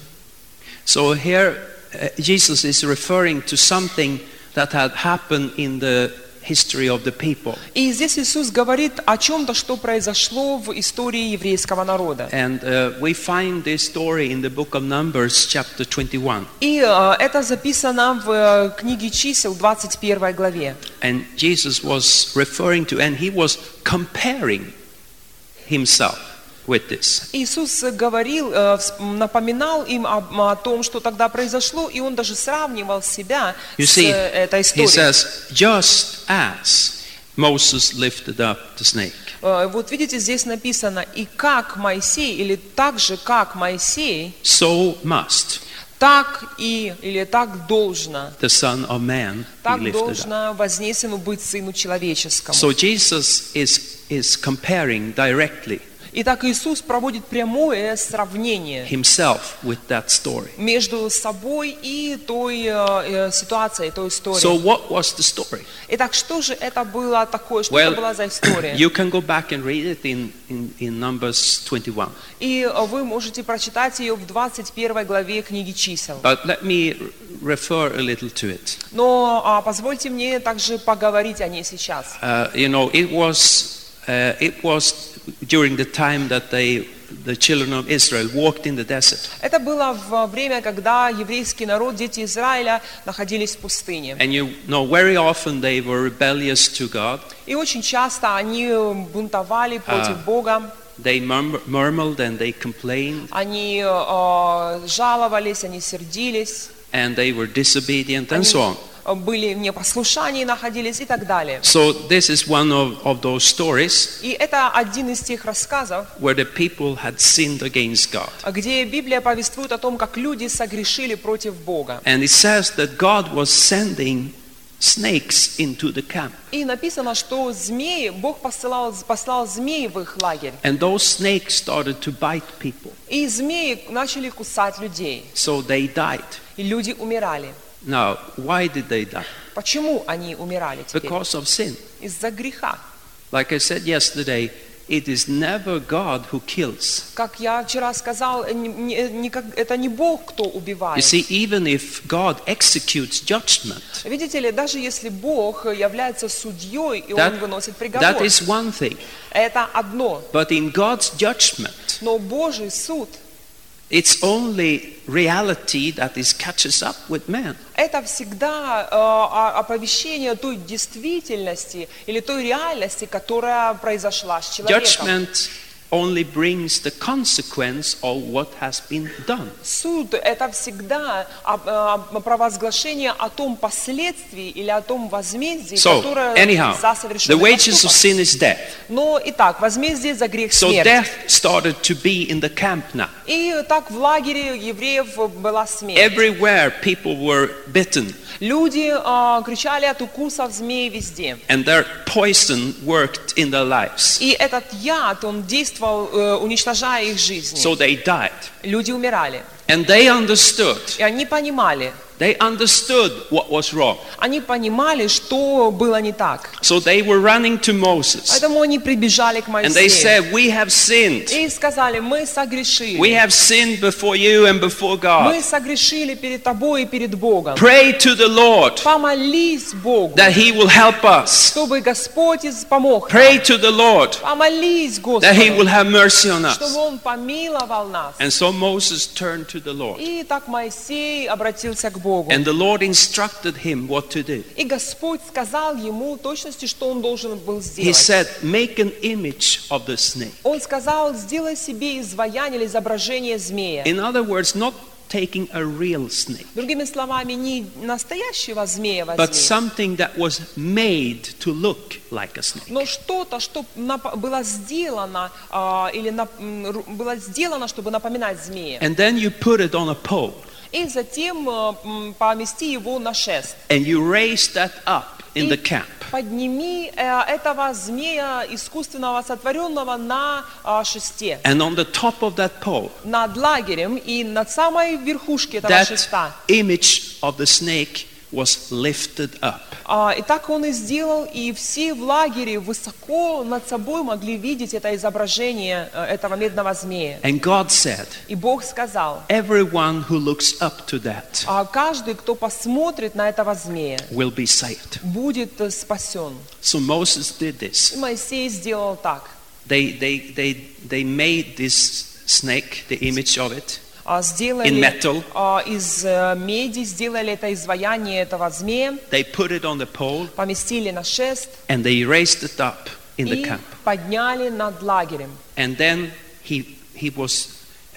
So here Jesus is referring to something that had happened in the history of the people. И здесь Иисус говорит о чем-то, что произошло в истории еврейского народа. And we find this story in the book of Numbers chapter 21. И это записано в книге Чисел, 21 главе. And Jesus was referring to, and he was comparing himself with this. Иисус говорил, напоминал им о том, что тогда произошло, и Он даже сравнивал себя You с see, этой he историей. says, just as Moses lifted up the snake. Вот видите, здесь написано, и как Моисей, или так же, как Моисей, So must так и, или так должно, the Son of Man be так lifted up. должно вознесено быть Сыну Человеческому. So Jesus is comparing directly Итак, Иисус проводит прямое сравнение himself with that story. между собой и той ситуацией, той историей. So what was the story? Итак, что же это было такое, что Well, это была за история? you can go back and read it in Numbers 21. И вы можете прочитать ее в 21 главе книги Чисел. But let me refer a little to it. Но позвольте мне также поговорить о ней сейчас. It was during the time that the children of Israel walked in the desert. Это было во время, когда еврейский народ, дети Израиля, находились в пустыне. And you know, very often they were rebellious to God. И очень часто они бунтовали против Бога. They murmured and they complained. Они жаловались, они сердились. And they were disobedient and so on. Были в непослушании, находились и так далее. So this is one of those stories И это один из тех рассказов, where the people had sinned against God. где Библия повествует о том, как люди согрешили против Бога. And it says that God was sending snakes into the camp. И написано, что змеи, Бог послал змеи в их лагерь. And those snakes started to bite people. И змеи начали кусать людей. So they died. И люди умирали. Now, why did they die? Почему они умирали теперь? Because of sin. Из-за греха. Like I said yesterday, it is never God who kills. Как я вчера сказал, это не Бог, кто You убивает. see, even if God executes judgment, Видите ли, даже если Бог является судьей, и that, Он выносит that приговор, is one thing. это одно. But in God's judgment, Но Божий суд, it's only reality that is catches up with man. это всегда оповещение той действительности или той реальности, которая произошла с человеком. Judgment only brings the consequence of what has been done. Суд – это всегда провозглашение о том последствии или о том возмездии, So, которое anyhow, за the совершенный wages of поступок. sin is death. Но итак, возмездие за грех So смерть. death started to be in the camp now. И так в лагере евреев была смерть. Everywhere people were bitten, Люди кричали от укусов змей везде. and their poison worked in their lives. И этот яд, он действовал, уничтожая их жизни. So they died. Люди умирали. And they understood. И они понимали, They understood what was wrong. они понимали, что было не так. So they were running to Moses. Поэтому они прибежали к And they Моисею. said, we have sinned. И сказали, мы согрешили. We have sinned before you and before Мы God. согрешили перед тобой и перед Богом. Pray to the Lord Помолись Богу, that he will help us. чтобы Господь помог нам. Pray to the Lord Помолись that he will Господу, have mercy on чтобы us. Он помиловал нас. And so Moses turned to the Lord. И так Моисей обратился к Богу. And the Lord instructed him what to do. И Господь сказал ему в точности, что он должен был He сделать. said, make an image of the snake. Он сказал, сделай себе изваяние или изображение змея. In other words, not taking a real snake, Другими словами, не настоящего змея but возьми, something that was made to look like a snake. но что-то, что было сделано, было сделано, чтобы напоминать змея. And then you put it on a pole, И затем помести его на шест. and you raise that up in the И camp. подними этого змея искусственного, сотворенного на шесте. And on the top of that pole, Над лагерем и над самой верхушке этого that шеста. image of the snake was lifted up. И так он и сделал, и все в лагере высоко над собой могли видеть это изображение этого медного змея. And God said, И Бог сказал, everyone who looks up to that каждый, кто посмотрит на этого змея, will be saved. будет спасен. So Moses did И this. Моисей сделал так. They made this snake, the image of it, Сделали in metal. из меди, сделали это изваяние этого змея, They put it on the pole, поместили на шест and they raised it up in the и camp. подняли над лагерем. And then he was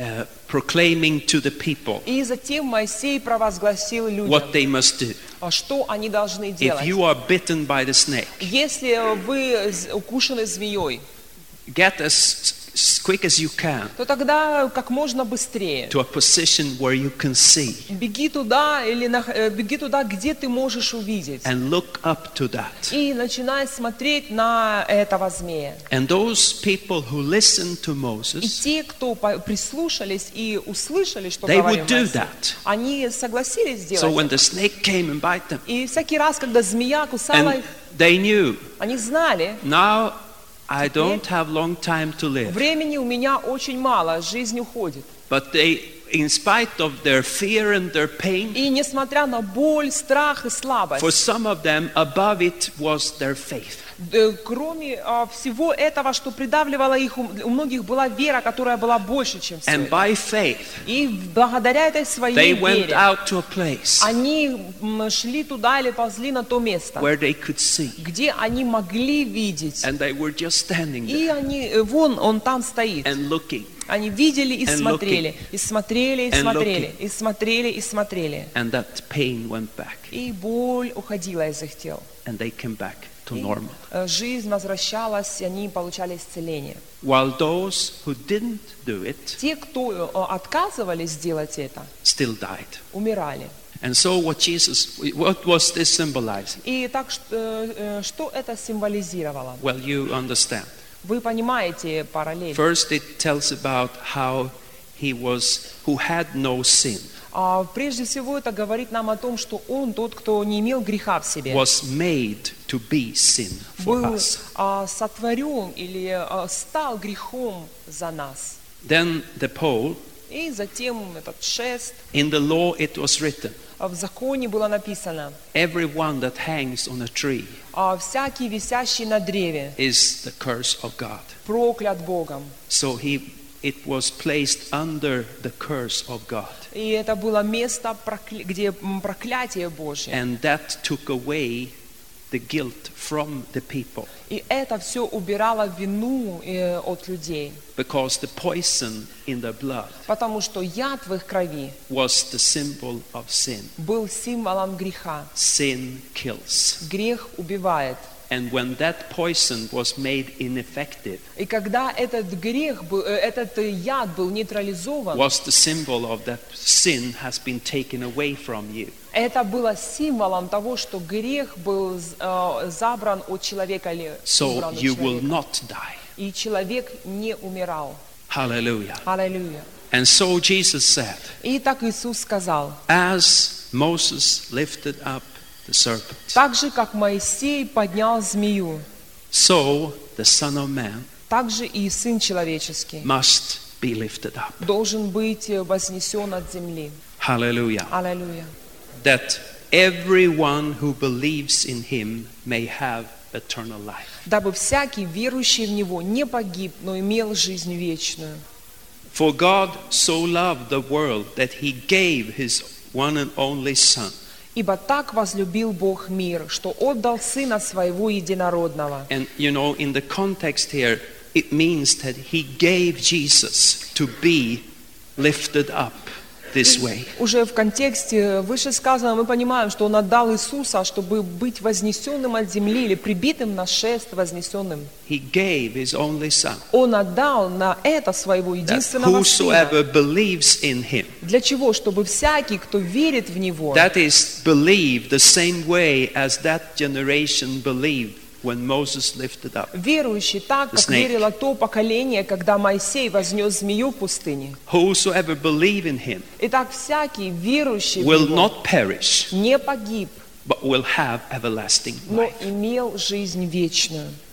proclaiming to the people И затем Моисей провозгласил людям, what they must do. что они должны If делать. you are bitten by the snake, Если вы укушены змеей, get as quick as you can то тогда как можно быстрее to a position where you can see беги туда, беги туда, где ты можешь увидеть. and look up to that. И начинай смотреть на этого змея. And those people who listened to И Moses, те, кто прислушались и услышали, что they говорил would do Моисей, that. они согласились So сделать when это. the snake came and bite them, И всякий раз, когда змея кусала and их, they knew, они знали, now I don't have long time to live. времени у меня очень мало, жизнь уходит. But they, in spite of their fear and their pain, И несмотря на боль, страх и слабость, for some of them, above it was their faith. кроме всего этого, что придавливало их, у многих была вера, которая была больше, чем все And это. by faith, И благодаря этой своей they went вере out to a place они шли туда или ползли на то место, where they could see. где они могли видеть. And they were just standing И there они, вон он там стоит. and looking. Они видели и And смотрели, и смотрели, и And смотрели, и смотрели, и смотрели. And that pain went back. И боль уходила из их тел. And they came back to И, normal. жизнь возвращалась, и они получали исцеление. While those who didn't do it Те, кто отказывались сделать это, still died. умирали. And so what was this symbolizing? И так, что это символизировало? Well, you understand. Вы понимаете параллель. First it tells about how he was who had no sin, Прежде всего это говорит нам о том, что он тот, кто не имел греха в себе, was made to be sin for был us. сотворен или стал грехом за нас. Then the pole, И затем этот шест. in the law it was written, В законе было написано, everyone that hangs on a tree всякий висящий на древе is the curse of God. проклят Богом. So it was placed under the curse of God. И это было место, где проклятие Божье. And that took away the guilt from the people, И это все убирало вину от людей. because the poison in the blood Потому что яд в их крови was the symbol of sin. был символом греха. Sin kills. Грех убивает. And when that poison was made ineffective, И когда этот грех был, этот яд был нейтрализован, was the symbol of that sin has been taken away from you. это было символом того, что грех был забран от человека или So убран от you will человека. not die. И человек не умирал. Hallelujah. Аллилуйя. And so Jesus said, И так Иисус сказал, as Moses lifted up the serpent, так же, как Моисей поднял змею, so the Son of Man так же и Сын Человеческий must be lifted up. должен быть вознесен от земли. Hallelujah. Аллилуйя. That everyone who believes in him may have eternal life. Дабы всякий, верующий в Него, не погиб, но имел жизнь вечную. For God so loved the world that he gave his one and only Son. Ибо так возлюбил Бог мир, что отдал Сына Своего Единородного. And you know, in the context here, it means that he gave Jesus to be lifted up this way. Уже в контексте вышесказанного мы понимаем, что Он отдал Иисуса, чтобы быть вознесенным от земли или прибитым на шест вознесенным. He gave his only Son, Он отдал на это Своего that единственного whosoever Сына. believes in him, Для чего? Чтобы всякий, кто верит в Него, that is, believe the same way as that generation believed when Moses lifted up. верующий так, The как snake. верило то поколение, когда Моисей вознес змею в пустыне. Whosoever believe in him Итак, всякий верующий в will Него not perish, не погиб, but will have everlasting но life. имел жизнь вечную.